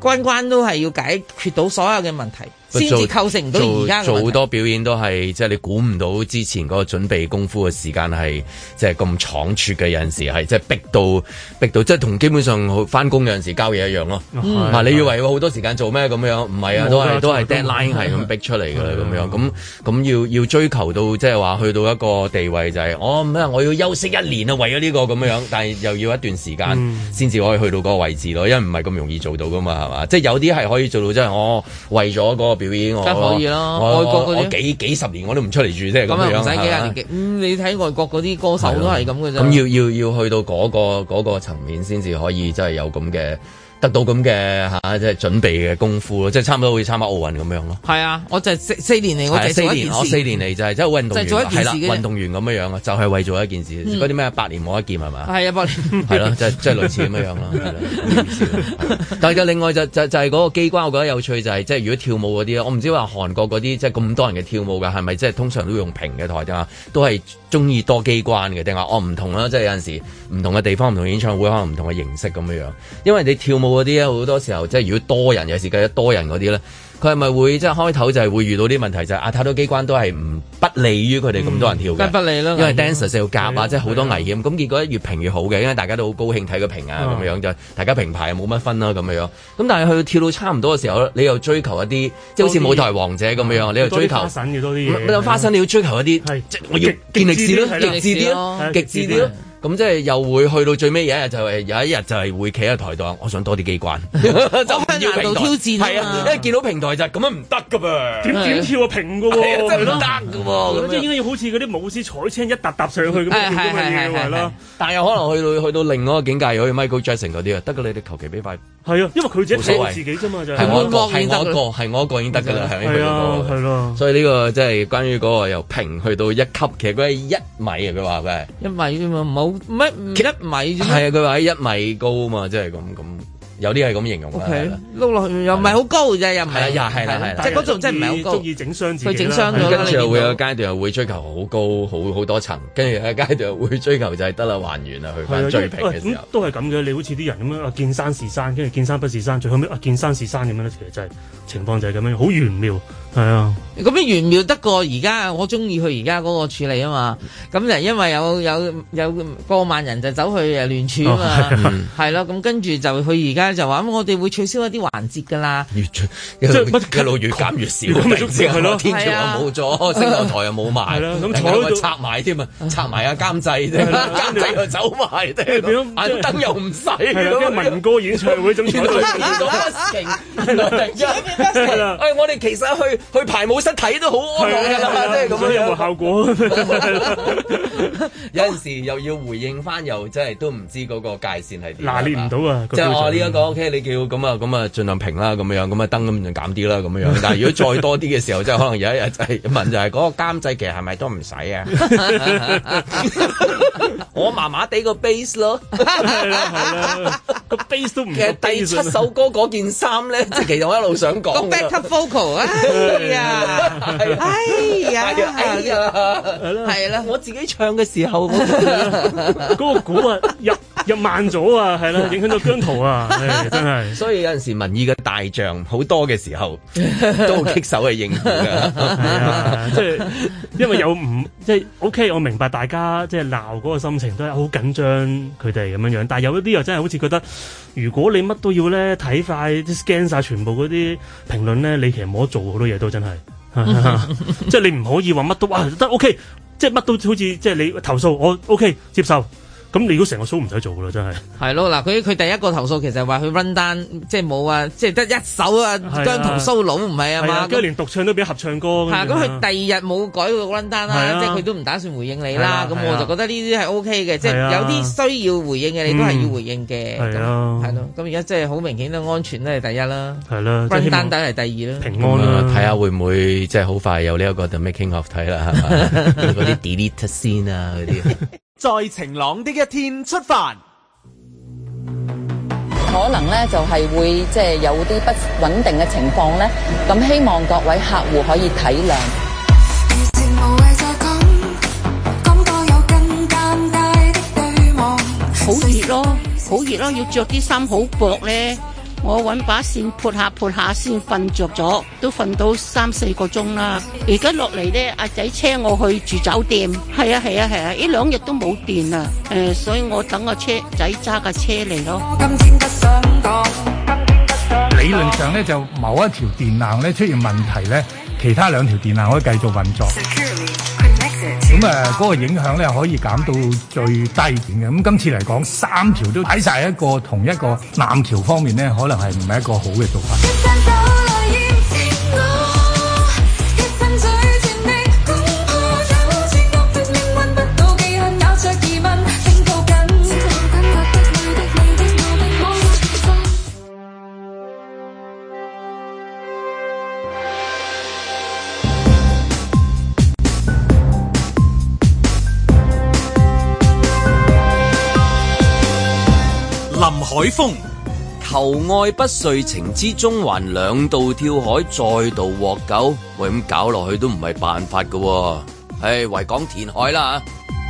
關都係要解決到所有嘅問題，先至構成唔到而家嘅問題。 做好多表演都係即係你估唔到之前嗰個準備功夫嘅時間係即係咁倉促嘅，有陣時係即係逼到即係同基本上翻工有陣時交嘢一樣咯。你以為好多時間做咩咁樣？唔係啊，都係 deadline 係咁逼出嚟㗎啦咁樣。咁要追求到即係話去到一個地位就係我要休息1年啊，為咗呢個咁樣，但係又要一段時間先至可以去到嗰個位置咯，因為唔係咁容易做到噶嘛，係嘛？即係有啲係可以做到，即係我為咗嗰個表演， 梗可以啦。外國嗰啲幾十年我都唔出嚟住，即係咁樣。 唔使幾廿年你睇外國嗰啲歌手都係咁嘅啫。 咁要去到嗰個層面先至可以，真係有咁嘅。得到咁嘅即係準備嘅功夫咯，即係差唔多好似參加奧運咁樣咯。係啊， 我就4年嚟，我就做一件事。 我4年嚟就係即係運動員，係啦，運動員咁樣啊，就係為做一件事。嗰啲咩百年磨一劍係嘛？係啊，百年係咯，即係類似咁樣咯，係啦。但係另外就係嗰個機關，我覺得有趣就係即係如果跳舞嗰啲，我唔知話韓國嗰啲即係咁多人嘅跳舞㗎，係咪即係通常都用平嘅台定啊？都係中意多機關嘅定話唔同啦，即係有陣時唔同嘅地方、唔同演唱會可能唔同嘅形式咁樣。因為你跳舞嗰啲咧，好多時候即係如果多人，有時計得多人嗰啲咧，佢係咪會即係開頭就係會遇到啲問題，就係太多機關都係不利於佢哋咁多人跳嘅， 不利啦。 因為 dancers 要夾啊，即係好多危險。咁結果越評越好嘅，因為大家都好高興睇佢評啊咁樣，就大家評牌又冇乜分啦咁樣。咁但係去到跳到差唔多嘅時候，你又追求一啲即係好似舞台王者咁樣，你又追求花神要多啲嘢。 花神你要追求一啲，即係我要健力士咯，極致啲咯，極致啲咯。咁即係又會去到最尾有一日就係會企喺台度，我想多啲機關，就唔要平台挑戰。 係啊，因為見到平台就咁樣唔得噶噃， 點跳啊平噶喎， 真係唔得噶喎。 咁即係應該要好似嗰啲舞獅彩青一沓沓上去咁樣係咯。 但係又可能去到另外一個境界，好似 Michael Jackson 嗰啲啊，得噶你哋求其俾塊。 係啊，因為佢自己睇自己啫嘛，就係我一個已經得噶啦，係啊，係咯。所以呢個即係關於嗰個由平去到1級，其實佢係1米啊，佢話佢係 1米啫嘛，唔好乜唔1米啫。係啊，佢話喺1米高啊嘛，即係咁。有啲係咁形容嘅， 碌落去又唔係好高啫，又唔係， 係啦， 即係嗰度真係唔係好高， 中意整傷自己， 佢整傷咗。 跟住又會有階段又會追求好高，好多層，跟住有階段又會追求就係得啦，還原啊，去翻最平嘅時候。 都係咁嘅，你好似啲人咁樣啊，見山是山，跟住見山不是山，最後尾見山是山咁樣咧，其實真係情況就係咁樣，好玄妙，係啊。咁樣玄妙得過而家，我中意佢而家嗰個處理啊嘛。咁就因為有過萬人就走去聯署啊嘛，係咯。咁跟住就佢而家就話我哋會取消一啲環節㗎啦， 一路越減越少，係咯，天橋又冇咗，升降台又冇埋，咁拆埋添啊，拆埋啊監製啫，監製又走埋，眼燈又唔使， 跟民歌演唱會總之都變咗我哋其實去排舞室睇都好安樂㗎啦，即係咁樣有冇效果？ 有陣時又要回應翻，又真係都唔知嗰個界線係點， 拿捏唔到啊！ 即係我呢一個 OK，你叫咁啊，盡量平啦，咁樣咁啊燈咁就減啲啦，咁樣。但係如果再多啲嘅時候，即係可能有一日就係問就係嗰個監製其實係咪都唔使啊？我麻麻地個 base 咯， 係啦，個 base 都唔。 其實第7首歌嗰件衫咧，即係其實我一路想講。 個 backup vocal 係啦， 我自己唱嘅時候， 嗰個鼓啊入慢咗啊，係啦，影響到姜濤啊，真係。 所以有陣時民意嘅大將好多嘅時候，都好棘手去應付㗎。 係啊，即係因為有唔即係 OK，我明白大家即係鬧嗰個心情都係好緊張佢哋咁樣樣，但係有一啲又真係好似覺得，如果你乜都要咧睇快啲 scan 晒全部嗰啲評論咧，你其實冇得做好多嘢都真係。即係你唔可以話乜都哇得 OK，即係乜都好似即係你投訴我 OK 接受。咁你如果成個 show 唔使做噶啦，真係。係咯，嗱，佢第一個投訴其實話佢 run down，即係冇啊，即係得一首啊姜濤 solo 唔係啊嘛， 跟住連獨唱都俾合唱歌。 係啊，咁佢第二日冇改個 run down 啦，即係佢都唔打算回應你啦。咁我就覺得呢啲係 OK 嘅，即係有啲需要回應嘅，你都係要回應嘅。係咯，咁而家即係好明顯啦，安全都係第一啦。係啦，run down 係第二啦。 平安啦， 睇下會唔會即係好快有呢一個 The Making of 睇啦，係嘛？嗰啲 delete 先啊，嗰啲。 在晴朗的一天出發， 可能咧就係會即係有啲不穩定嘅情況咧，咁希望各位客戶可以體諒。 好熱咯，好熱咯，要着啲衫好薄咧， 我揾把線撥下先瞓着咗，都瞓到3-4個鐘啦。而家落嚟咧，阿仔車我去住酒店。係啊，呢2日都冇電啦。所以我等個車仔揸架車嚟咯。 理論上咧，就某一條電纜咧出現問題咧，其他2條電纜可以繼續運作。咁嗰個影響咧可以減到最低點嘅。咁今次嚟講，3條都擺晒一個同一個纜橋方面咧，可能係唔係一個好嘅做法。 林海峰求愛不遂，情之中環2度跳海，再度獲救。喂，咁搞落去都唔係辦法噶。維港填海啦。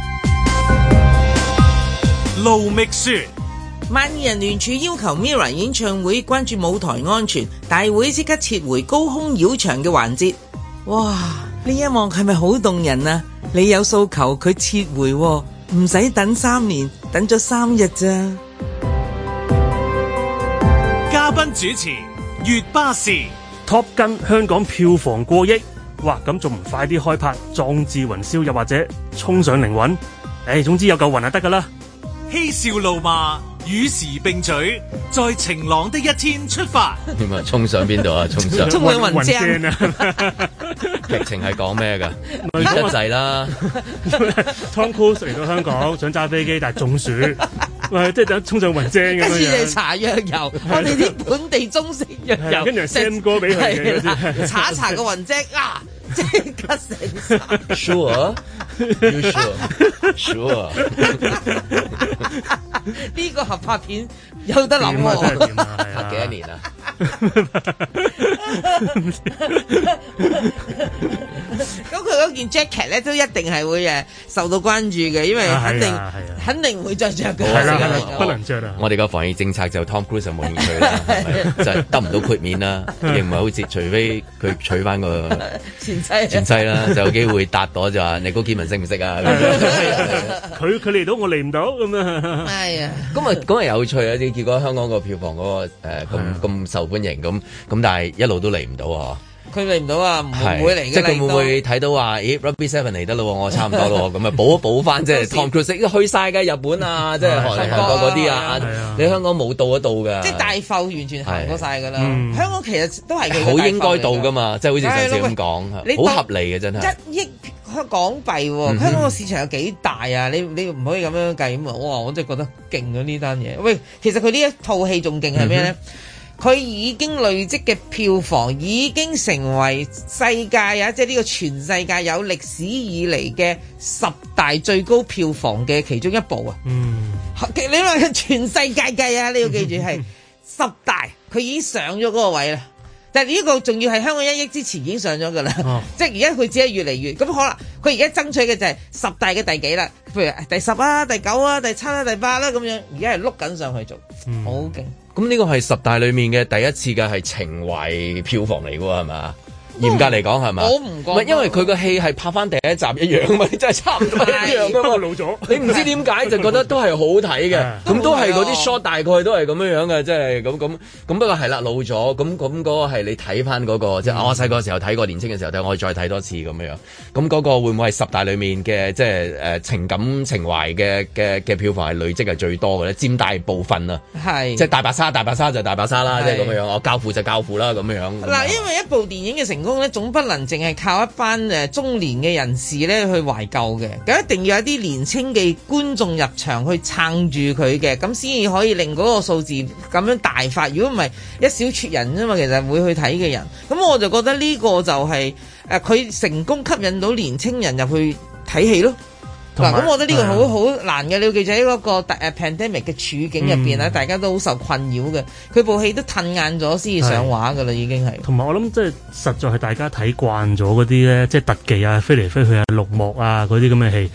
盧覓雪， 萬二人聯署要求 MIRROR 演唱會關注舞台安全，大會即刻撤回高空繞場嘅環節。哇！呢一幕係咪好動人啊？你有訴求，佢撤回，唔使等3年，等咗3日咋？ 嘉賓主持月巴士 Top Gun 香港票房過億，哇！咁仲唔快啲開拍壯志雲霄，又或者衝上靈魂？總之有嚿雲就得噶啦。 嬉笑怒罵與時並舉，在晴朗的一天出發。 點啊？衝上邊度啊？衝上雲正啊！ 劇情係講咩噶？熱得滯啦。 Tom Cruise 嚟到香港想揸飛機，但係中暑。即係等衝上雲正咁樣。跟住你搽藥油，我哋啲本地中式藥油， 跟住 send 歌俾佢嘅。 搽一搽個雲正啊，即刻成晒。 Sure， 呢個合拍片有得諗喎。 幾多年啊？ 咁佢嗰件 jacket 咧都一定係會受到關注嘅，因為肯定唔會再着嘅。 係啦，不能着啦。 我哋個防疫政策就 Tom Cruise 就冇興趣啦，就係得唔到豁免啦，亦唔係好似除非佢娶翻個前妻啦，就有機會答到就話你高建文識唔識啊？ 佢嚟到我嚟唔到咁啊！ 係啊， 咁啊有趣啊！啲結果香港個票房嗰個咁受歡迎咁，但係一路都嚟唔到啊！ 佢嚟唔到啊，唔會嚟嘅。 即係佢會唔會睇到話，咦 Rugby 7嚟得咯，我差唔多咯，咁啊補一補翻，即係 Tom Cruise 去晒嘅日本啊，即係韓國嗰啲啊，你香港冇到得到㗎。即係大埠完全行過晒㗎啦。香港其實都係好應該到㗎嘛，即係好似上次咁講，好合理嘅真係。 1億港幣喎，香港個市場有幾大啊？你唔可以咁樣計咁啊！哇，我真係覺得勁咗呢單嘢。喂，其實佢呢一套戲仲勁係咩咧？佢已經累積嘅票房已經成為世界啊，即係呢個全世界有歷史以嚟嘅10大最高票房嘅其中一部啊！你話全世界計啊，你要記住係10大，佢已經上咗嗰個位啦。但係呢個仲要係香港1億之前已經上咗㗎啦，即係而家佢只係越嚟越咁可能佢而家爭取嘅就係10大嘅第幾啦，譬如第10啊、第9啊、第7啊、第8啦咁樣，而家係碌緊上去做，好勁。 咁呢個係10大裏面嘅第一次嘅係情懷票房嚟㗎喎，係嘛？嚴格嚟講係嘛？ 我唔覺， 因為佢個戲係拍翻第一集一樣嘛，真係差唔多一樣噶嘛。 老咗， 你唔知點解就覺得都係好睇嘅，咁都係嗰啲 shot 大概都係咁樣嘅，即係咁。不過係啦，老咗，咁嗰個係你睇翻嗰個，即係我細個時候睇過，年輕嘅時候睇，我再睇多次咁樣。咁嗰個會唔會係10大裏面嘅，即係情感情懷嘅票房係累積係最多嘅咧？佔大部分啊，係即係大白鯊就大白鯊啦，即係咁樣。我教父就教父啦，咁樣。 嗱，因為一部電影嘅成功咧，總不能淨係靠一班中年嘅人士咧去懷舊嘅，咁一定要有啲年青嘅觀眾入場去撐住佢嘅，咁先至可以令嗰個數字咁樣大發。如果唔係一小撮人啫嘛，其實會去睇嘅人，咁我就覺得呢個就係佢成功吸引到年青人入去睇戲咯。嗱，咁我覺得呢個好難嘅，你要記住喺嗰個pandemic 嘅處境入邊大家都好受困擾嘅。佢部戲都褪晏咗先至上畫噶啦，已經係。同埋我諗即係實在係大家睇慣咗嗰啲咧，即係特技啊、飛嚟飛去啊、綠幕啊嗰啲咁嘅戲。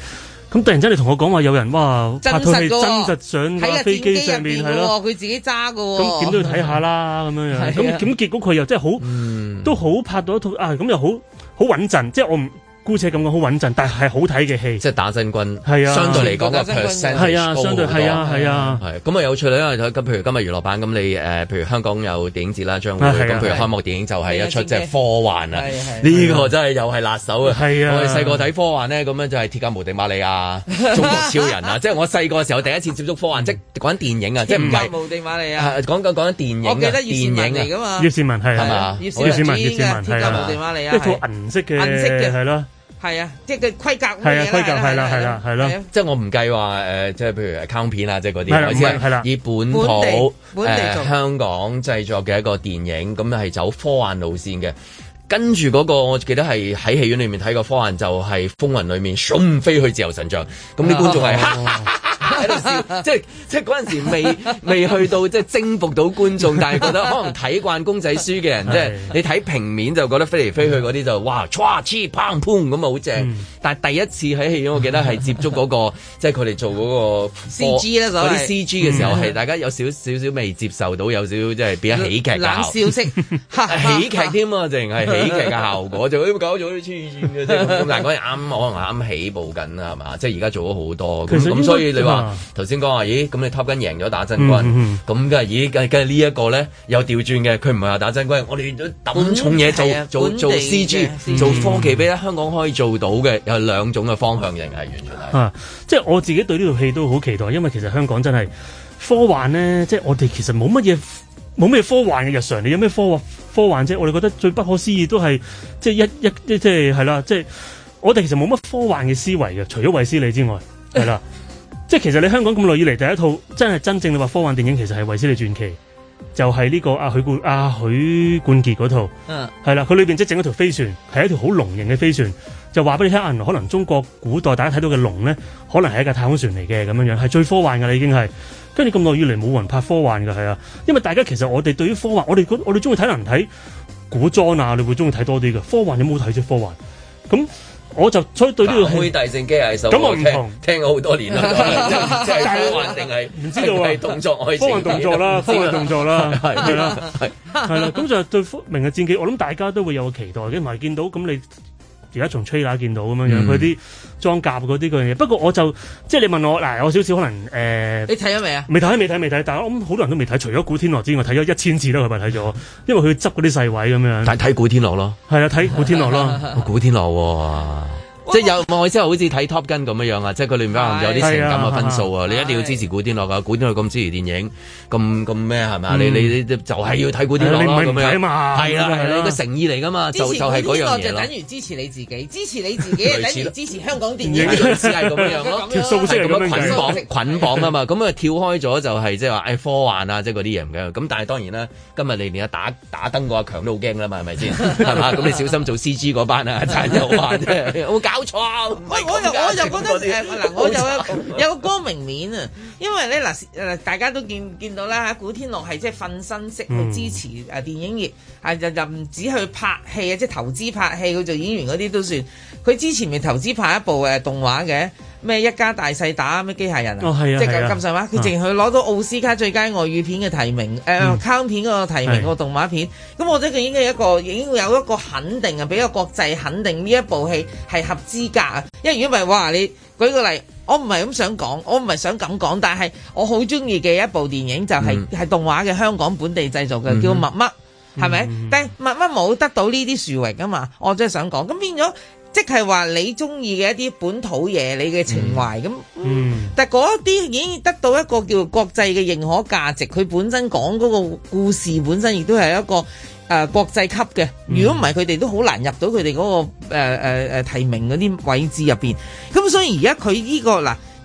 咁突然間你同我講話有人哇拍套戲真實上架飛機上面係咯， 佢自己揸㗎喎。 咁點都要睇下啦咁樣樣。咁結果佢又真係好，都好拍到一套啊！咁又好穩陣，即係我唔。姑且咁講好穩陣，但係好睇嘅戲， 即係打真軍， 係啊， 相對嚟講個 percent 係啊，相對係啊，係啊， 係咁啊有趣啦，因為咁譬如今日娛樂版咁你譬如香港有電影節啦，將會咁譬如開幕電影就係一出即係科幻啊，呢個真係又係辣手啊！係啊，我哋細個睇科幻咧，咁樣就係鐵甲無敵瑪利亞、中國超人啊，即係我細個嘅時候第一次接觸科幻，即係講緊電影啊，即係唔係鐵甲無敵瑪利亞，講緊電影啊，我記得葉倩文嚟㗎嘛， 葉倩文係嘛？ 葉倩文鐵甲無敵瑪利亞， 一套銀色嘅係咯。 係啊，即係佢規格係啊，規格係啦，係啦， 即係我唔計話即係譬如卡通片啊，即係嗰啲，我知係啦，以本土香港製作嘅一個電影，咁係走科幻路線嘅。跟住嗰個，我記得係喺戲院裏面睇過科幻，就係《風雲》裏面，飛去自由神像，咁啲觀眾係喺度笑，即係嗰陣時未去到即係征服到觀眾，但係覺得可能睇慣公仔書嘅人，即係你睇平面就覺得飛嚟飛去嗰啲就哇，唰黐砰砰咁啊好正，但係第一次喺戲院，我記得係接觸嗰個，即係佢哋做嗰個 CG 啦， 嗰啲 CG 嘅時候係大家有少少未接受到，有少少即係變咗喜劇冷笑式喜劇添啊，淨係。喜劇嘅效果就搞咗啲黐線嘅啫，咁但係嗰陣啱可能啱起步緊啦，係嘛？即係而家做咗好多，咁所以你話頭先講話，咦？咁你 Top Gun 贏咗打真軍，咁梗係咦？梗係呢一個咧又調轉嘅，佢唔係話打真軍，我哋都揼重嘢做 CG 做科技，俾香港可以做到嘅有兩種嘅方向型係完全係。 即係我自己對呢套戲都好期待，因為其實香港真係科幻咧，即係我哋其實冇咩科幻嘅日常，你有咩科幻啫？我哋覺得最不可思議都係即係即係係啦，即係我哋其實冇乜科幻嘅思維嘅，除咗衛斯理之外，係啦。即係其實你香港咁耐以嚟第一套真正你話科幻電影，其實係衛斯理傳奇，就係呢個許冠傑嗰套，係啦。佢裏邊即係整一條飛船，係一條好龍形嘅飛船，就話俾你聽啊，可能中國古代大家睇到嘅龍咧，可能係一架太空船嚟嘅咁樣樣，係最科幻㗎啦已經係。跟住咁耐以嚟冇人拍科幻㗎，係啊，因為大家其實我哋對於科幻，我哋中意睇人睇古裝啊，你會中意睇多啲嘅科幻，你冇睇啫科幻。咁我就所以對呢個係大聖機械手， 咁我唔同聽咗好多年啦，即係科幻定係唔知道啊？ 係動作愛情， 科幻動作啦，科幻動作啦，係啦，係啦。咁就對明日戰記，我諗大家都會有個期待嘅，同埋見到咁你。而家從 trailer 見到咁樣樣，佢啲裝甲嗰啲嗰樣嘢。不過我就即係你問我嗱，有少少可能你睇咗未啊？ 未睇，但係我諗好多人都未睇，除咗古天樂之外，睇咗1000次啦，佢咪睇咗，因為佢執嗰啲細位咁樣。 但係睇古天樂咯， 係啊，睇古天樂咯， 古天樂喎。即係有我意思係好似睇 Top Gun 咁樣啊！即係佢裏面有啲情感嘅分數啊！你一定要支持古天樂噶，古天樂咁支持電影，咁咩係咪？你就係要睇古天樂咯咁樣。係啦，係你個誠意嚟噶嘛？就係嗰樣嘢就等於支持你自己，支持你自己等於支持香港電影， 類似係咁樣咯。 條數式咁樣捆綁啊嘛！咁啊跳開咗就係即係話科幻啊，即係嗰啲嘢唔緊要。咁但係當然啦，今日你連打燈嗰阿強都好驚啦嘛，係咪先？係嘛？咁你小心做 CG 嗰班啊！陳友華啫，有冇搞錯啊？ 我就覺得我就有個光明面啊，因為咧大家都見到啦，古天樂係即係瞓身式去支持電影業，就唔止去拍戲啊，即係投資拍戲，佢做演員嗰啲都算。佢之前咪投資拍一部動畫嘅咩一家大細打咩機械人啊，即係咁上下，佢淨係攞到奧斯卡最佳外語片嘅提名，卡通片嗰個提名個動畫片。咁我覺得佢已經有一個肯定啊，俾個國際肯定呢一部戲係合資格啊。因為如果唔係，哇！你舉個例，我唔係咁想講，我唔係想咁講，但係我好中意嘅一部電影就係動畫嘅香港本地製作嘅，叫乜乜，係咪？但係乜乜冇得到呢啲殊榮啊嘛，我真係想講，咁變咗。即係話你中意嘅一啲本土嘢，你嘅情懷咁，但係嗰一啲已經得到一個叫國際嘅認可價值，佢本身講嗰個故事本身亦都係一個國際級嘅。如果唔係，佢哋都好難入到佢哋嗰個提名嗰啲位置入邊。咁所以而家佢呢個嗱。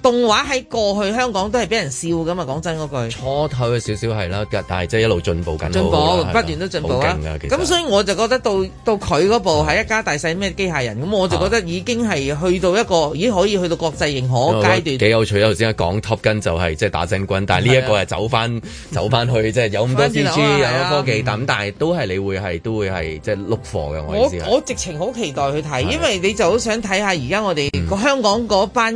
動畫喺過去香港都係俾人笑噶嘛，講真嗰句。 初頭嘅少少係啦，但係即係一路進步緊， 不斷都進步啊！咁所以我就覺得到佢嗰部係一家大細咩機械人，咁我就覺得已經係去到一個已經可以去到國際認可階段。幾有趣！頭先講 Top Gun 就係即係打真軍，但係呢一個係走翻去即係有咁多 CG 有咁多科技，但係都係你會係即係碌貨嘅。我意思係我直情好期待去睇，因為你就好想睇下而家我哋個香港嗰班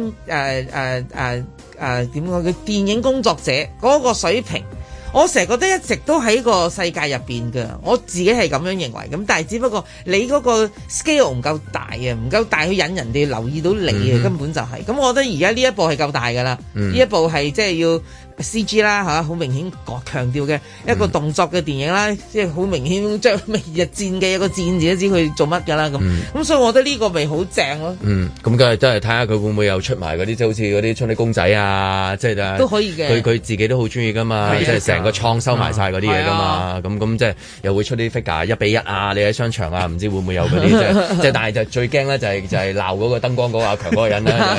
點講嘅電影工作者嗰個水平，我成日覺得一直都喺個世界入邊㗎，我自己係咁樣認為。咁但係只不過你嗰個 scale 唔夠大啊，唔夠大去引人哋留意到你啊，根本就係。咁我覺得而家呢一部係夠大㗎啦，呢一部係即係要CG 啦嚇，好明顯強調嘅一個動作嘅電影啦，即係好明顯將明日戰記有個戰字都知佢做乜㗎啦咁。所以我覺得呢個咪好正咯。 咁梗係真係睇下佢會唔會又出埋嗰啲即係好似嗰啲春啲公仔啊，即係都可以嘅。 佢自己都好中意㗎嘛，即係成個創收埋晒嗰啲嘢㗎嘛。咁即係又會出啲 figure 1:1啊，你喺商場啊，唔知會唔會有嗰啲即係但係就最驚咧就係鬧嗰個燈光嗰個阿強嗰個人啦。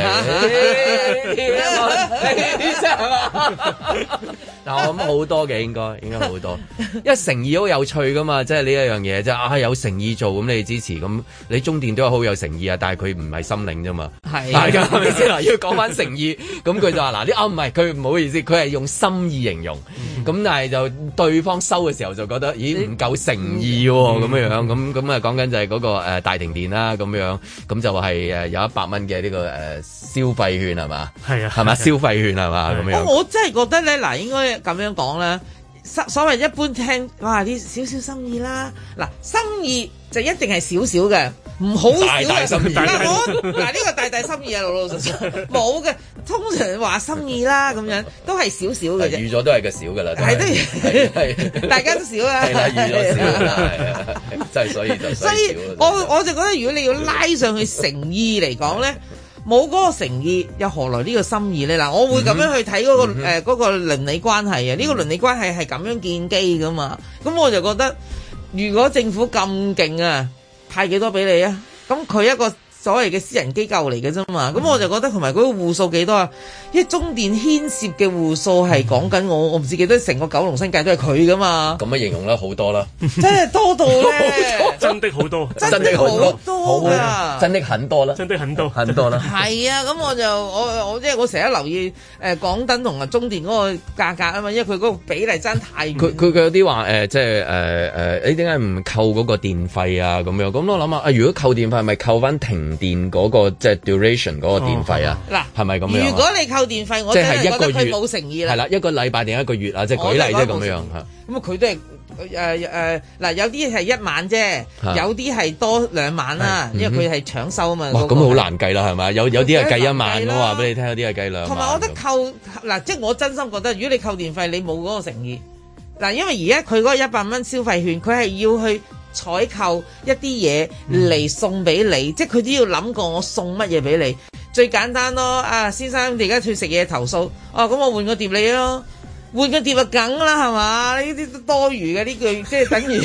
但我諗好多嘅應該好多，因為誠意好有趣噶嘛，即係呢一樣嘢即係有誠意做咁你支持咁，你中電都有好有誠意啊，但係佢唔係心領啫嘛，係㗎，係咪先嗱？要講翻誠意，咁佢就話嗱啲唔係佢唔好意思，佢係用心意形容，咁但係就對方收嘅時候就覺得咦唔夠誠意喎咁樣，咁啊講緊就係嗰個大停電啦咁樣，咁就係有100蚊嘅呢個消費券係嘛？係啊，係嘛消費券係嘛咁樣？ 我真係覺得咧嗱，應該咁樣講啦。所謂一般聽，哇啲少少心意啦，嗱心意就一定係少少嘅，唔好少嘅。心意嗱呢個大大心意啊，老老實實冇嘅。通常話心意啦咁樣，都係少少嘅啫。預咗都係個少㗎啦， 係大家都少啦。 係啦，預咗少啦，真係所以我就覺得如果你要拉上去誠意嚟講咧。冇嗰個誠意，又何來呢個心意咧？嗱，我會咁樣去睇嗰個鄰里關係啊！呢個鄰里關係係咁樣建基噶嘛？咁我就覺得，如果政府咁勁啊，派幾多俾你啊？咁佢一個所謂嘅私人機構嚟嘅啫嘛，咁我就覺得同埋嗰個戶數幾多啊？因為中電牽涉嘅戶數係講緊我唔知幾多，成個九龍新界都係佢噶嘛。 咁樣形容啦，好多啦， 真係多到咧， 真的好多， 真的好多噶， 真的很多啦， 真的很多很多啦。 係啊，咁我即係我成日留意港燈同埋中電嗰個價格啊嘛，因為佢嗰個比例爭太遠。 佢有啲話即係你點解唔扣嗰個電費啊？咁樣咁我諗下，如果扣電費，係咪扣翻停電嗰個即係 duration 嗰個電費啊？嗱，係咪咁樣？ 如果你扣電費，我真係覺得佢冇誠意啦。 係啦，一個禮拜定一個月啊？即係舉例啫咁樣嚇。 咁佢都係嗱，有啲係1晚啫，有啲係多2晚啦，因為佢係搶收啊嘛。 哇，咁好難計啦，係咪？有啲係計1晚，我話俾你聽，有啲係計2晚。 同埋我覺得扣嗱，即係我真心覺得，如果你扣電費，你冇嗰個誠意嗱，因為而家佢嗰個100蚊消費券，佢係要去採購一啲嘢嚟送俾你，即係佢都要諗過我送乜嘢俾你。最簡單咯，先生，你而家去食嘢投訴，咁我換個碟你咯。換個碟就梗啦，係嘛？呢啲都多餘嘅呢句，即係等於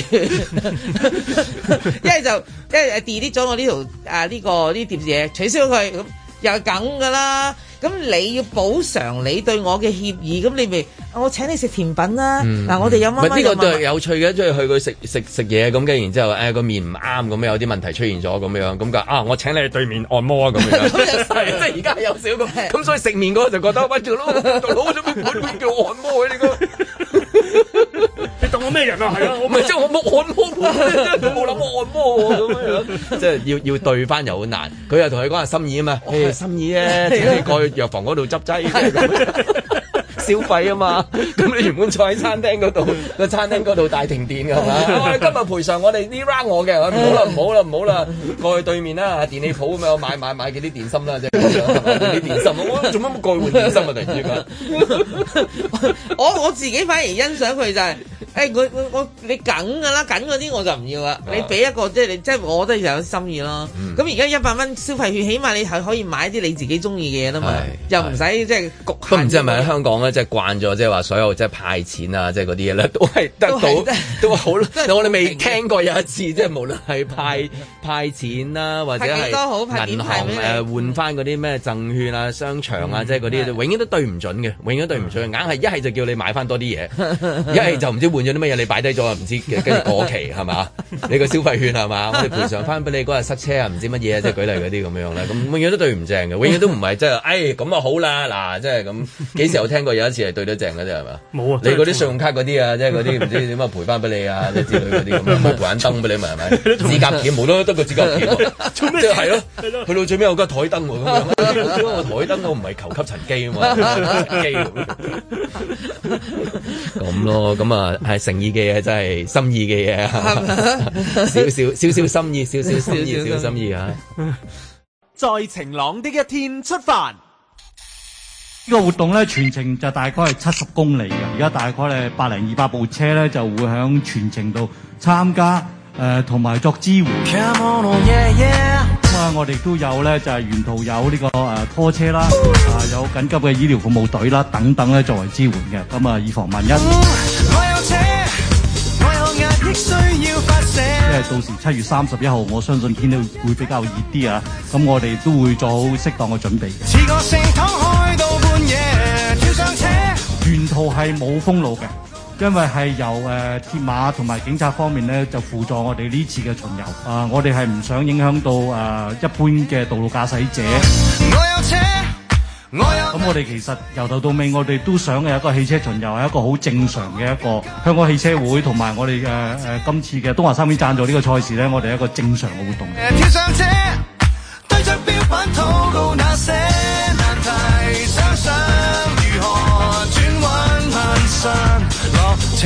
一係就delete 咗我呢條呢碟嘢，取消佢咁又係梗噶啦。咁你要補償你對我嘅協議，咁你咪我請你食甜品啦。嗱，我哋有乜乜呢個都係有趣嘅，即係去佢食嘢咁嘅，然之後個面唔啱咁樣，有啲問題出現咗咁樣，咁我請你去對面按摩啊咁樣。即係而家有少少咁，所以食麵嗰個就覺得喂，做佬做咩管叫我按摩嘅呢個？ 你當我咩人啊？係啊， 我唔係即係我冇按摩，冇諗我按摩咁樣，即係要對翻又好難。佢又同佢講係心意啊嘛，心意啊，請你過去藥房嗰度執劑，消費啊嘛。咁你原本坐喺餐廳嗰度，個餐廳嗰度大停電㗎係嘛？今日賠償我哋呢 round 我嘅，唔好啦，過去對面啦，電器鋪咁樣買幾啲電芯啦，即係啲電芯。我做乜過去換電芯啊？突然之間， 我自己反而欣賞佢就係。你梗㗎啦，梗嗰啲我就唔要啦。你俾一個即係我覺得有心意咯。咁而家100蚊消費券，起碼你係可以買啲你自己中意嘅嘢啦嘛，又唔使即係局限。 都唔知係咪喺香港咧， 即係慣咗，即係話所有即係派錢啊，即係嗰啲嘢咧，都係得到都好。我哋未聽過有一次，即係無論係派錢啦，或者係銀行換翻嗰啲咩贈券啊、商場啊，即係嗰啲，永遠都對唔準嘅，永遠都對唔準。硬係一係就叫你買翻多啲嘢，一係就唔知換咗啲乜嘢，你擺低咗啊，唔知跟住過期係嘛？你個消費券係嘛？我哋賠償翻俾你嗰日塞車啊，唔知乜嘢啊，即係舉例嗰啲咁樣咧，咁永遠都對唔正嘅，永遠都唔係即係，咁啊好啦，嗱，即係咁幾時有聽過有一次係對得正嘅啫係嘛？冇啊！你嗰啲信用卡嗰啲啊，即係嗰啲唔知點樣賠翻俾你啊，即係之類嗰啲咁，冇賠眼燈俾你咪係咪？指甲鉗冇得個指甲鉗喎，即係係咯，去到最尾有間台燈喎咁樣，因為我台燈我唔係求吸塵機啊嘛，咁咯，咁啊係誠意嘅嘢，真係心意嘅嘢，少少心意，少少心意啊！ 在晴朗的一天出發。 呢個活動咧全程就大概係70公里嘅，而家大概係100-200部車咧就會響全程度參加，同埋作支援。我哋都有咧就係沿途有呢個拖車啦，有緊急嘅醫療服務隊啦等等咧作為支援嘅，咁啊以防萬一。因為到時7月31號，我相信天氣會比較熱啲啊，咁我哋都會做好適當嘅準備。沿途係冇封路嘅，因為係由鐵馬同埋警察方面咧就輔助我哋呢次嘅巡遊。我哋係唔想影響到一般嘅道路駕駛者。咁我哋其實由頭到尾，我哋都想有一個汽車巡遊係一個好正常嘅一個香港汽車會同埋我哋今次嘅東華三院贊助呢個賽事咧，我哋係一個正常嘅活動。跳上車，對着標板禱告那些難題，想想如何轉彎攀上落車。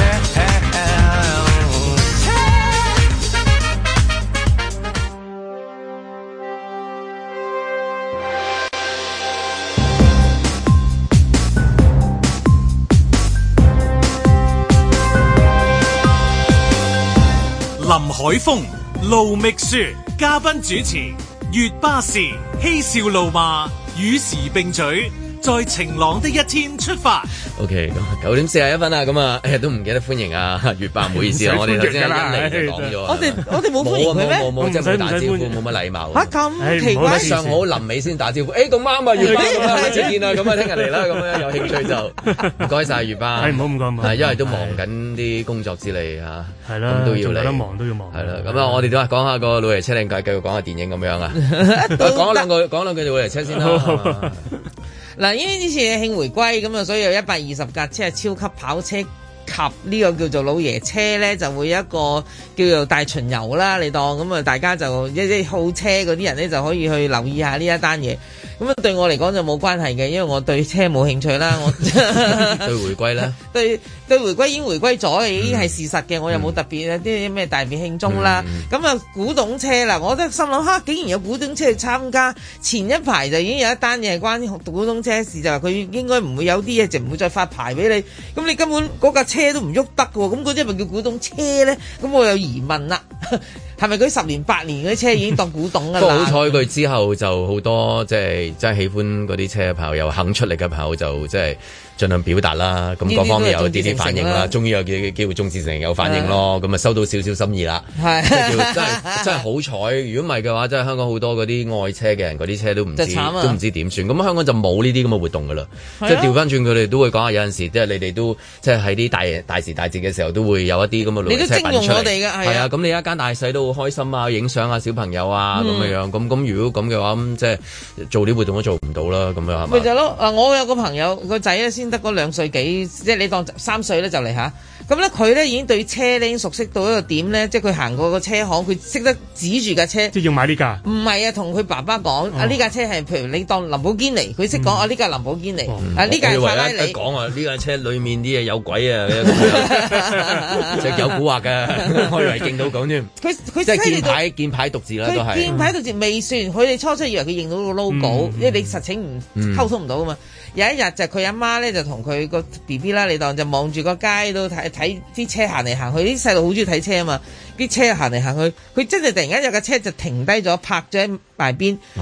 林海峰、盧覓雪，嘉賓主持，粵巴士嬉笑怒罵，與時並舉，在晴朗的一天出發。OK， 咁9點41分啊，咁啊，都唔記得歡迎啊，粵巴，唔好意思啊，我哋頭先一嚟就講咗，我哋冇歡迎佢咩？冇，即係冇打招呼，冇乜禮貌。嚇咁奇怪！上好臨尾先打招呼，咁啱啊，粵巴咁啊，再見啦，咁啊，聽日嚟啦，咁樣有興趣就唔該曬粵巴。係唔好咁講，係因為都忙緊啲工作之類嚇，係啦，都要嚟，得忙都要忙。係啦，咁啊，我哋都係講下個老爺車靚計，繼續講下電影咁樣啊。講兩句老爺車先啦。嗱，因為呢次慶回歸咁啊，所以有120架車係超級跑車及呢個叫做老爺車咧，就會有一個叫做大巡遊啦。你當咁啊，大家就一啲好車嗰啲人咧就可以去留意下呢一單嘢。咁啊，對我嚟講就冇關係嘅，因為我對車冇興趣啦。我對回歸咧，對回歸已經回歸咗，已經係事實嘅。我又冇特別啲咩大別慶祝啦。咁啊，古董車啦，我覺得心諗竟然有古董車去參加。前一排就已經有一單嘢係關古董車事，就話佢應該唔會有啲嘢就唔會再發牌俾你。咁你根本嗰架車都唔喐得嘅喎，咁嗰啲係咪叫古董車咧？咁我有疑問啦。係咪佢10年8年嗰啲車已經當古董㗎啦？不過好彩佢之後就好多即係真係喜歡嗰啲車嘅朋友，又肯出力嘅朋友就即係盡量表達啦。咁各方面有啲反應啦，終於有機會眾志成城有反應咯。咁啊收到少少心意啦。係真係好彩。如果唔係嘅話，真係香港好多嗰啲愛車嘅人，嗰啲車都唔知點算。咁香港就冇呢啲咁嘅活動㗎啦。即係調翻轉佢哋都會講下，有陣時即係你哋都即係喺啲大時大節嘅時候都會有一啲咁嘅老爺車品出嚟。係啊，咁你一間大細都好開心啊，影相啊，小朋友啊咁樣。咁如果咁嘅話，咁即係做啲活動都做唔到啦。咁樣係嘛？咪就係咯。我有個朋友個仔咧，先得嗰2歲幾，即係你當3歲咧就嚟嚇。咁咧佢咧已經對車咧已經熟悉到一個點咧，即係佢行過個車行，佢識得指住架車。即係要買呢架？唔係啊，同佢爸爸講啊，呢架車係譬如你當林寶堅尼，佢識講啊，呢架林寶堅尼啊，呢架係法拉利。講啊，呢架車裡面啲嘢有鬼啊，即係有蠱惑嘅，我以為勁到講添。佢即係見牌讀字啦，都係。見牌讀字未算，佢哋初初以為佢認到個 logo，因為你實情唔溝通唔到噶嘛。有一日就佢阿媽咧就同佢個 BB 啦，你當就望住個街度睇啲車行嚟行去，啲細路好中意睇車啊嘛，啲車行嚟行去，佢真係突然間有架車就停低咗，泊咗喺埋邊。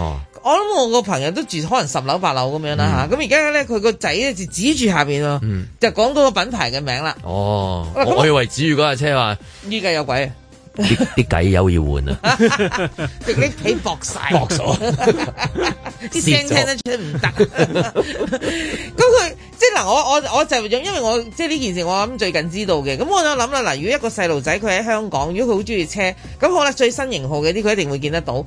諗我個朋友都住可能10樓8樓咁樣啦嚇，咁而家咧佢個仔咧就指住下邊喎，就講嗰個品牌嘅名啦。 哦，我以為指住嗰架車話依家有鬼啊！ 啲計油要換啊！ 啲皮薄晒， 薄咗， 啲聲聽得出唔得。咁佢即係嗱，我就因為我即係呢件事，我諗最近知道嘅。咁我就諗啦，嗱，如果一個細路仔佢喺香港，如果佢好中意車，咁好啦，最新型號嘅啲佢一定會見得到。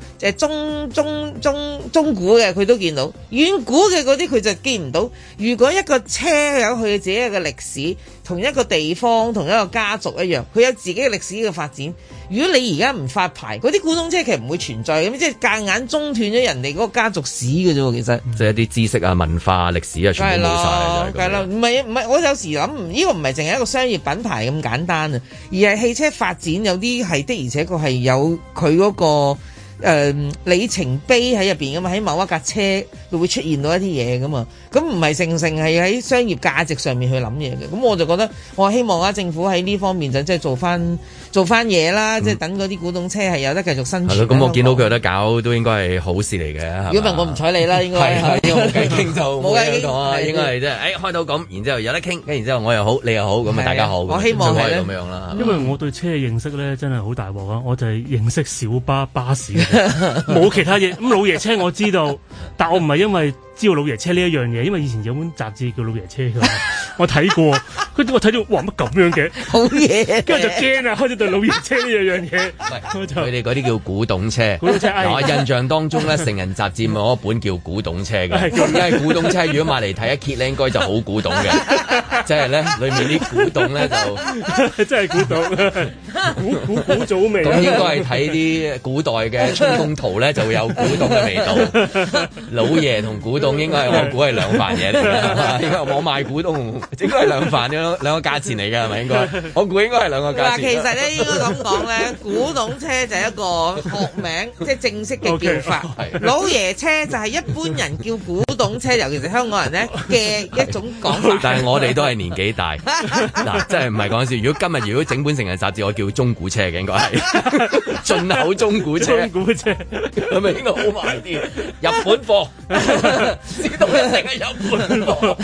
中古嘅佢都見到，遠古嘅嗰啲佢就見唔到。如果一個車有佢自己嘅歷史，同一個地方同一個家族一樣，佢有自己嘅歷史嘅發展。如果你而家唔發牌，嗰啲古董車其實唔會存在咁，即係夾硬中斷咗人哋嗰個家族史嘅啫喎，其實。即係一啲知識啊、文化、歷史啊，全部冇晒。係啦，唔係，我有時諗，呢個唔係淨係一個商業品牌咁簡單啊，而係汽車發展有啲係的，而且確係有佢嗰個。里程碑喺入邊噶嘛，喺某一架車佢會出現到一啲嘢噶嘛，咁唔係成係喺商業價值上面去諗嘢嘅，咁我就覺得我希望政府喺呢方面就即係做翻嘢啦，即係等嗰啲古董車係有得繼續生存。 咁我見到佢有得搞都應該係好事嚟嘅。 如果唔係我唔睬你啦，應該係冇偈傾就冇偈講啊，應該係即係開到咁，然之後有得傾，跟然之後我又好，你又好，咁啊大家好。我希望係咁樣啦。 因為我對車嘅認識咧真係好大鑊啊，我就係認識小巴、巴士。冇其他嘢，咁老爺車我知道，但我唔係因為知道老爺車呢一樣嘢，因為以前有本雜誌叫老爺車㗎，我睇過，跟住我睇到哇乜咁樣嘅， 好嘢， 跟住就驚啊，開始對老爺車呢樣嘢。 佢哋嗰啲叫古董車，我印象當中咧，成人雜誌咪有一本叫古董車嘅，因為古董車如果買嚟睇一揭咧，應該就好古董嘅，即係咧裏面啲古董咧就真係古董，古早味。 咁應該係睇啲古代嘅春宮圖咧，就會有古董嘅味道。老爺同古董應該係我估係兩飯嘢嚟嘅，應該我賣古董應該係兩飯兩個價錢嚟嘅係咪應該？我估應該係兩個價錢。 嗱，其實咧應該咁講咧，古董車就係一個學名，即係正式嘅叫法。老爺車就係一般人叫古董車，尤其是香港人咧嘅一種講法。 但係我哋都係年紀大，嗱，真係唔係講笑。如果整本成人雜誌，我叫中古車嘅應該係進口中古車， 中古車係咪應該好賣啲？日本貨，知道一定係日本貨。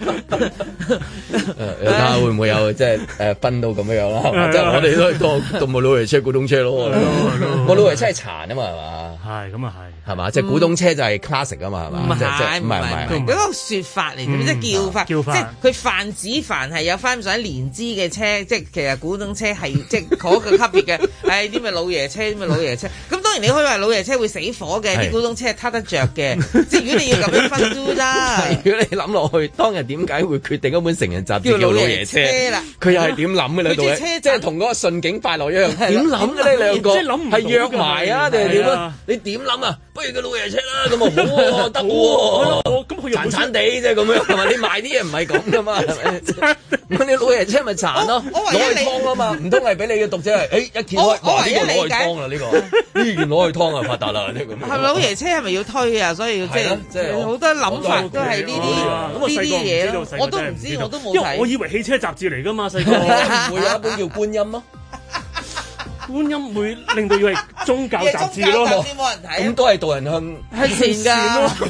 睇下會唔會有即係分到咁樣啦？即係我哋都係當冇老爺車、古董車咯。我老爺車係殘啊嘛，係嘛？ 係咁啊係嘛？即係古董車就係 classic 啊嘛，係嘛？ 唔係嗰個説法嚟嘅，即係叫法，即係佢泛指凡係有翻上年資嘅車，即係其實古董車係即係嗰個級別嘅。係啲咩老爺車，啲咩老爺車。咁當然你可以話老爺車會死火嘅，啲古董車係撻得着嘅。即係如果你要咁樣分都得。 如果你諗落去，當日點解會決定一本成人雜誌叫老爺車啦？佢又係點諗嘅咧？到底即係同嗰個順境快樂一樣，點諗嘅呢兩個？係約埋啊定係點啊？你點諗啊？不如個老爺車啦，咁啊好喎，得喎，咁佢殘殘地啫咁樣，係咪？你賣啲嘢唔係咁噶嘛？咁你老爺車咪殘咯，攞去劏啊嘛？唔通係俾你嘅讀者係？一揭開，哇！呢個攞去劏啦，呢個呢件攞去劏啊，發達啦！呢咁。係咪老爺車係咪要推啊？所以即係好多諗法都係呢啲嘢咯。我都唔知，我都冇睇。 我以為汽車雜誌嚟噶嘛，細個會有一本叫觀音咯。 觀音會令到以為宗教雜誌咯， 冇人睇， 咁都係導人向善咯，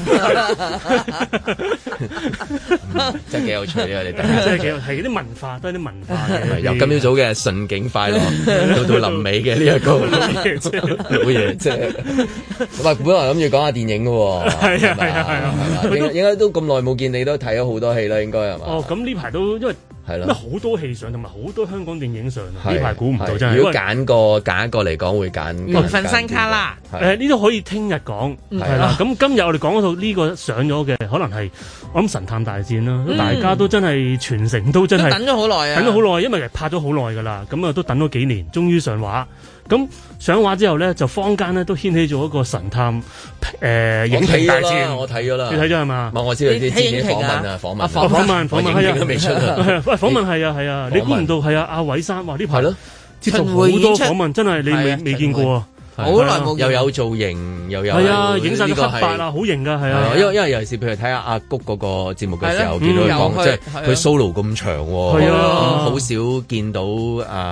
真係幾有趣啊！你真係幾有係啲文化，都係啲文化嘅。 由今朝早嘅順境快樂到臨尾嘅呢一個老爺車，唔係本來諗住講下電影嘅喎，係應該都咁耐冇見你，都睇咗好多戲啦，應該係嘛？ 哦，咁呢排都因為。係啦，好多戲上同埋好多香港電影上，呢排估唔到真係。 如果揀一個嚟講，會揀緣分新卡啦。 呢啲可以聽日講，係啦。咁今日我哋講嗰套呢個上咗嘅，可能係我諗神探大戰啦。大家都真係全城都真係等咗好耐啊， 等咗好耐，因為拍咗好耐㗎啦。咁啊都等咗幾年，終於上畫。咁上畫之後咧，就坊間咧都掀起咗一個神探影評大戰。 我睇咗啦， 你睇咗係嘛？ 我知道啲資料訪問啊，訪問係啊， 都未出啊。 喂，訪問係啊，你估唔到係啊？阿韋珊話呢排接受好多訪問，真係你未見過啊！ 好耐冇又有造型，又有係啊，影晒啲黑白啊，好型噶，係啊。 因為尤其是譬如睇下阿谷嗰個節目嘅時候，見到佢講即係佢 solo 咁長，係啊，好少見到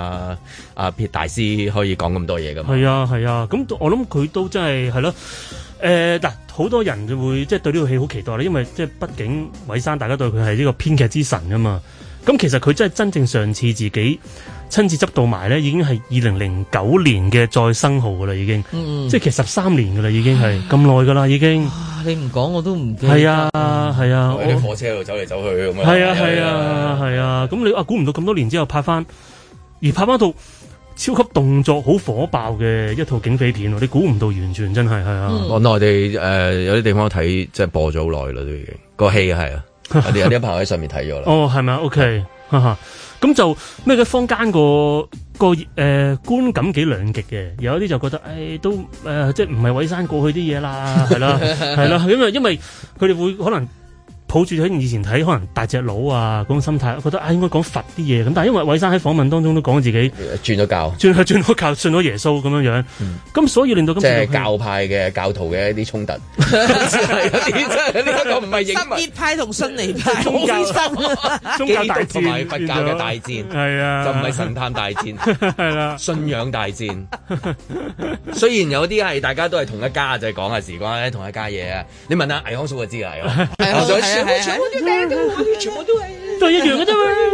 阿撇大師可以講咁多嘢噶嘛。 係啊，咁我諗佢都真係係咯。 嗱，好多人就會即係對呢套戲好期待啦，因為即係畢竟韋生大家對佢係呢個編劇之神啊嘛。咁其實佢真係真正上次自己親自執導埋咧，已經係2009年嘅再生號噶啦，已經，即係其實13年噶啦，已經係咁耐噶啦，已經。 你唔講我都唔記得。 係啊，係啊， 喺啲火車度走嚟走去咁樣。 係啊，係啊，係啊，咁你估唔到咁多年之後拍翻到超級動作好火爆嘅一套警匪片，你估唔到，完全真係係啊！ 我內地有啲地方睇，即係播咗好耐啦，都已經個戲係啊，有啲朋友喺上面睇咗啦。 哦，係咪 OK，咁就咩嘅坊間個觀感幾兩極嘅，有一啲就覺得都即係唔係韋生過去啲嘢啦，係啦係啦，因為佢哋會可能抱住喺以前睇可能大隻佬啊嗰種心態，覺得應該講佛啲嘢咁，但係因為韋生喺訪問當中都講自己轉咗教， 轉咗教，信咗耶穌咁樣樣，咁所以令到即係教派嘅教徒嘅一啲衝突，係有啲真係呢個唔係影什葉派同遜尼派宗教大戰同埋佛教嘅大戰， 係啊， 就唔係神探大戰， 係啦， 信仰大戰。雖然有啲係大家都係同一家，就係講下時關咧同一家嘢啊。你問下倪康叔就知啦，全部都係，都係一樣嘅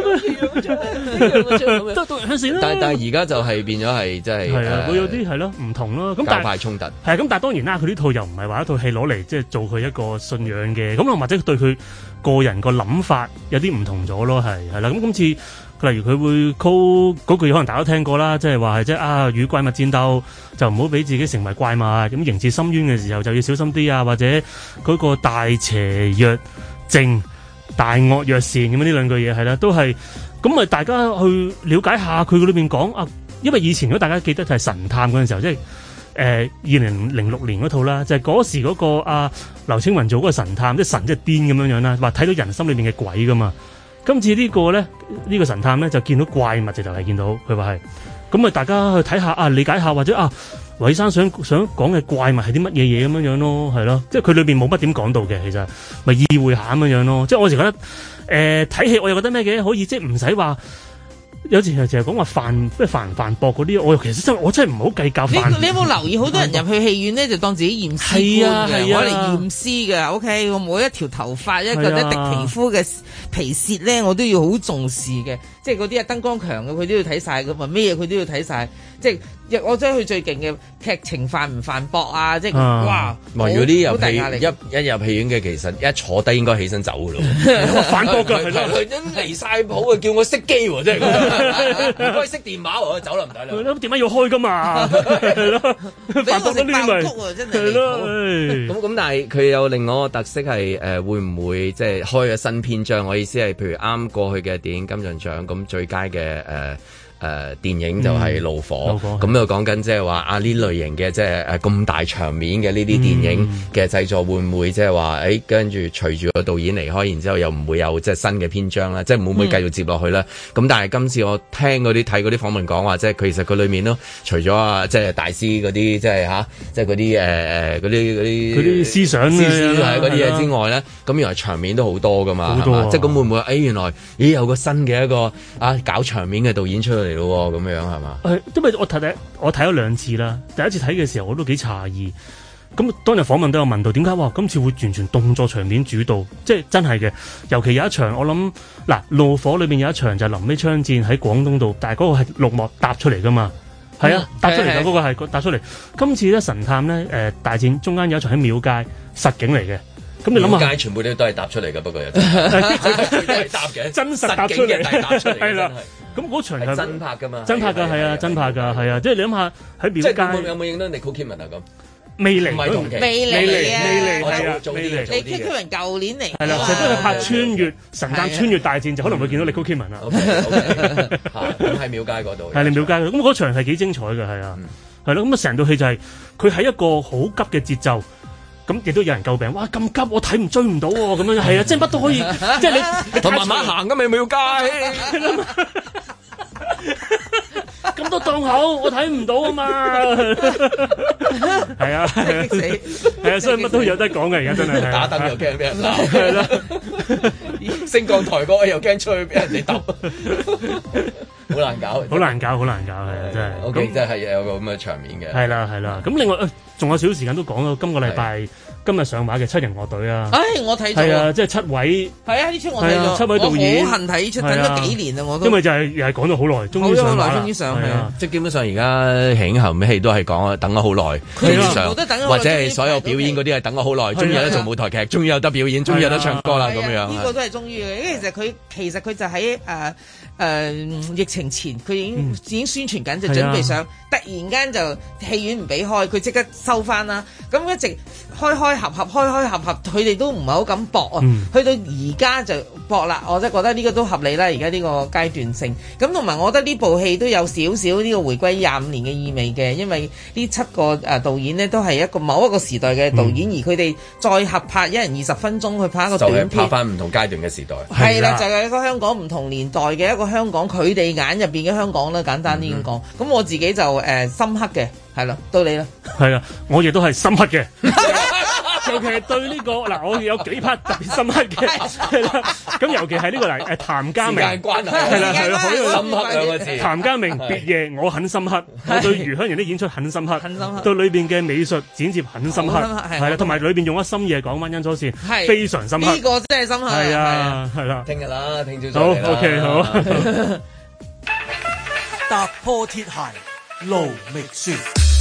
啫嘛，都人向善啦。但係而家就係變咗係即係會有啲係咯唔同咯。咁教派衝突係咁，但係當然啦，佢呢套又唔係話一套戲攞嚟即係做佢一個信仰嘅，咁或者對佢個人個諗法有啲唔同咗咯，係啦。咁今次例如佢會 call 嗰句，可能大家都聽過啦，即係話係即係與怪物戰鬥就唔好俾自己成為怪物，咁刑事深淵嘅時候就要小心啲啊，或者嗰個大邪若正大惡若善咁樣呢兩句嘢係啦，都係咁咪大家去了解下佢裏邊講啊，因為以前如果大家記得就係神探嗰陣時候，即係2006年嗰套啦，就係嗰時嗰個劉青雲做嗰個神探，即係神即係癲咁樣樣啦，話睇到人心裏邊嘅鬼噶嘛。今次呢個咧呢個神探咧就見到怪物，就係見到佢話係咁咪大家去睇下理解下或者韋生想講嘅怪物係啲乜嘢嘢咁樣樣咯，係咯，即係佢裏邊冇乜點講到嘅，其實咪意會下咁樣樣咯。即係我時覺得睇戲我又覺得咩嘅，可以即係唔使話有時成日講話犯唔犯駁嗰啲，我其實我真係唔好計較。 你有冇留意好多人入去戲院咧就當自己驗屍官嘅，攞嚟驗屍嘅。OK， 我每一條頭髮一滴皮膚嘅皮屑咧，我都要好重視嘅。即係嗰啲燈光強嘅，佢都要睇晒噶嘛，咩嘢佢都要睇晒。即係我將佢最勁嘅劇情犯唔犯駁啊！即係哇！ 如果啲入戲一入戲院嘅，其實一坐低應該起身走噶咯。 反駁㗎， 佢離晒譜啊！叫我熄機喎，真係唔該熄電話喎，走啦唔得啦。 咁點解要開㗎嘛？係咯，反駁得呢啲咪真係咯。 咁，但係佢有另外一個特色係會唔會即係開咗新篇章？我意思係譬如啱過去嘅電影金像獎咁最佳嘅電影就係怒火，咁又講緊即係話呢類型嘅即係咁大場面嘅呢啲電影嘅製作會唔會即係話跟住隨住個導演離開，然之後又唔會有即係新嘅篇章啦，即係會唔會繼續接落去咧？咁但係今次我聽嗰啲睇嗰啲訪問講話，即係其實佢裏面都除咗即係大師嗰啲即係即係嗰啲嗰啲思想嗰啲嘢之外咧，咁原來場面都好多噶嘛，係嘛？即係咁會唔會原來有個新嘅一個搞場面嘅導演出嚟咯，咁樣係嘛？ 因為我睇咗2次啦。第一次睇嘅時候我都幾詫異。咁當日訪問都有問到點解今次會完全動作場面主導，即係真係嘅。尤其有一場我諗怒火裏邊有一場就係臨尾槍戰喺廣東度，但係嗰個係綠幕搭出嚟噶嘛。係啊，搭出嚟嘅嗰個係搭出嚟。今次咧神探咧大戰中間有一場喺廟街實景嚟嘅。咁你諗下， 街全部都係搭出嚟嘅，不過又都係搭嘅， 真實搭出嚟，係啦。咁嗰場係真拍㗎嘛？ 真拍㗎，係啊，真拍㗎，係啊。即係你諗下喺廟街有冇影到 Nicole Kidman 啊？咁未嚟， 唔係同期， 未嚟啊！ 未嚟。 Nicole Kidman舊年嚟， 係啦，成日都係拍穿越神探穿越大戰，就可能會見到 Nicole Kidman 啦。 咁喺廟街嗰度， 係你廟街咁嗰場係幾精彩嘅，係啊，係咯。咁成套戲就係佢喺一個好急嘅節奏。咁亦都有人詬病，哇咁急我睇唔追唔到喎，咁樣係啊，即係乜都可以，即係你同慢慢行㗎咪廟街， 咁多檔口我睇唔到啊嘛，係啊，係啊，所以乜都有得講嘅，而家真係打燈又驚俾人鬧，係啦，升降台嗰個又驚出去俾人哋揼，好難搞， 好難搞，係啊，真係。 OK，真係有個咁嘅場面嘅。 係啦，咁另外仲有少少時間都講到今個禮拜今日上畫嘅七人樂隊啊！ 我睇咗係啊，即係7位係啊，呢出我睇咗 7位導演， 我好恨睇呢出，等咗幾年啦我都。 因為就係又係講咗好耐，終於上畫啦。 終於上係啊！ 即係基本上而家慶後尾戲都係講等咗好耐，或者係所有表演嗰啲係等咗好耐，終於有得做舞台劇，終於有得表演，終於有得唱歌啦咁樣。 呢個都係終於嘅，因為其實佢就喺疫情前，佢已經宣傳緊，就準備上，突然間就戲院唔俾開，佢即刻收翻啦。咁一直開合，佢哋都唔係好敢搏啊。去到而家就搏啦，我真係覺得呢個都合理啦。而家呢個階段性，咁同埋我覺得呢部戲都有少少呢個回歸25年嘅意味嘅，因為呢7個導演呢都係某一個時代嘅導演，而佢哋再合拍1人20分鐘去拍一個短片， 就係拍翻唔同階段嘅時代。 係啦，就係一個香港唔同年代嘅一個香港，佢哋眼入邊嘅香港啦，簡單啲咁講。咁我自己就深刻嘅，係啦，到你啦。 係啦，我亦都係深刻嘅。尤其係對呢個嗱，我有幾 part 特別深刻嘅，係啦。咁尤其係呢個嗱，譚家明，係啦，好深刻兩個字。譚家明別夜我很深刻，我對余香凝啲演出很深刻，對裏邊嘅美術剪接很深刻，係啦，同埋裏邊用咗深夜講溫恩佐線，非常深刻。 呢個真係深刻。 係啊，係啦。 聽日啦，聽朝早。 好 OK 好。 踏破鐵鞋路未雪。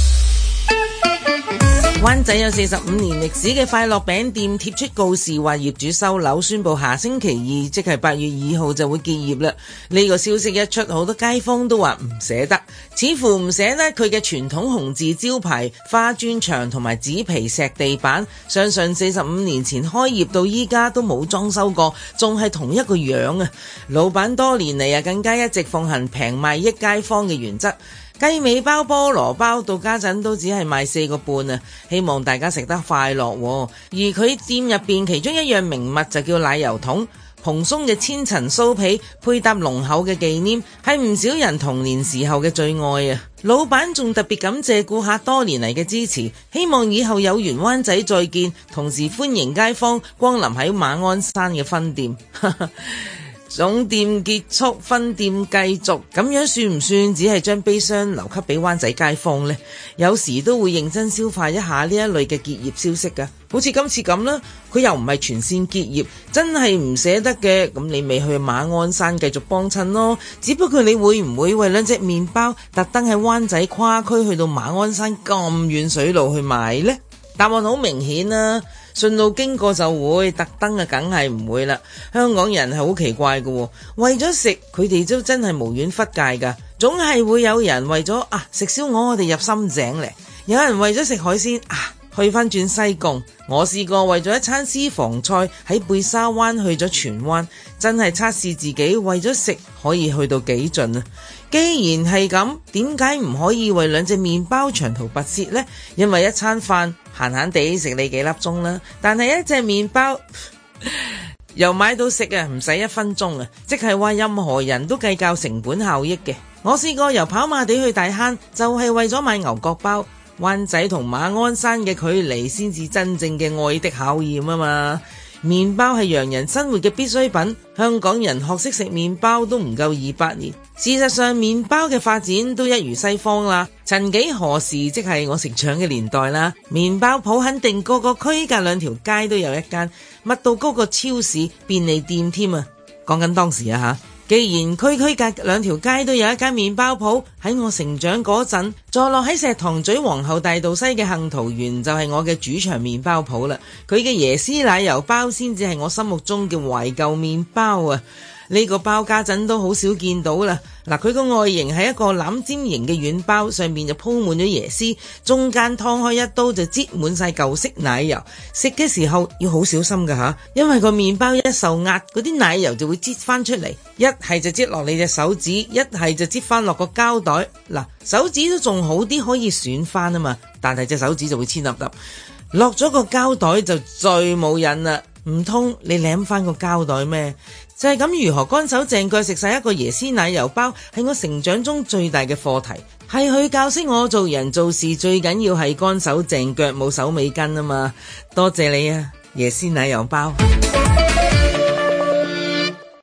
灣仔有45年歷史嘅快樂餅店貼出告示，話業主收樓，宣布下星期2，即係8月2號就會結業啦。呢個消息一出，好多街坊都話唔捨得，似乎唔捨得佢嘅傳統紅字招牌、花磚牆同埋紙皮石地板。相信45年前開業到依家都冇裝修過，仲係同一個樣啊！老闆多年嚟更加一直奉行平賣益街坊嘅原則。雞尾包、菠蘿包到家陣都只係賣4個半啊！希望大家食得快樂。而佢店入邊其中一樣名物就叫奶油桶，蓬鬆嘅千層酥皮配搭濃厚嘅忌廉，係唔少人童年時候嘅最愛啊！老闆仲特別感謝顧客多年嚟嘅支持，希望以後有緣灣仔再見，同時歡迎街坊光臨喺馬鞍山嘅分店。總店結束，分店繼續，咁樣算唔算只係將悲傷留給俾灣仔街坊呢？有時都會認真消化一下呢一類嘅結業消息㗎，好似今次咁啦，佢又唔係全線結業，真係唔捨得嘅，咁你咪去馬鞍山繼續幫襯咯。只不過你會唔會為2隻麵包特登喺灣仔跨區去到馬鞍山咁遠水路去買呢？答案好明顯啦。順路經過就會，特登啊梗係唔會啦。香港人係好奇怪嘅，為咗食佢哋都真係無遠弗屆噶。總係會有人為咗食燒鵝我哋入深井嚟，有人為咗食海鮮去翻轉西貢。我試過為咗一餐私房菜喺貝沙灣去咗荃灣，真係測試自己為咗食可以去到幾盡啊！既然係咁，點解唔可以為2隻麵包長途跋涉呢？因為一餐飯閒閒地食你幾粒鐘啦，但係一隻麵包由買到食唔使1分鐘啊！即係話任何人都計較成本效益嘅。我試過由跑馬地去大坑，就係為咗買牛角包。灣仔同馬鞍山嘅距離先至真正嘅愛的考驗啊嘛！麵包係洋人生活嘅必需品，香港人學識食麵包都唔夠200年。事實上，麵包嘅發展都一如西方啦。曾幾何時，即係我成長嘅年代啦，麵包鋪肯定個個區隔2條街都有一間，密到高過超市、便利店添啊！講緊當時啊吓。既然區區隔2條街都有一間麵包鋪，喺我成長嗰陣，坐落喺石塘咀皇后大道西嘅幸桃園就係我嘅主場麵包鋪啦。佢嘅椰絲奶油包先至係我心目中嘅懷舊麵包啊！呢個包家陣都好少見到啦。嗱，佢個外形係一個欖尖形嘅軟包，上面就鋪滿咗椰絲，中間劏開一刀就擠滿晒舊式奶油。食嘅時候要好小心噶吓，因為個麵包一受壓，嗰啲奶油就會擠翻出嚟，一係就擠落你隻手指，一係就擠翻落個膠袋。嗱，手指都仲好啲，可以選翻啊嘛，但係隻手指就會黐粒粒。落咗個膠袋就最冇癮啦，唔通你舐翻個膠袋咩？就係咁，如何乾手淨腳食晒一個椰絲奶油包，係我成長中最大嘅課題。係佢教識我做人做事最緊要係乾手淨腳，冇手尾跟啊嘛！多謝你啊，椰絲奶油包。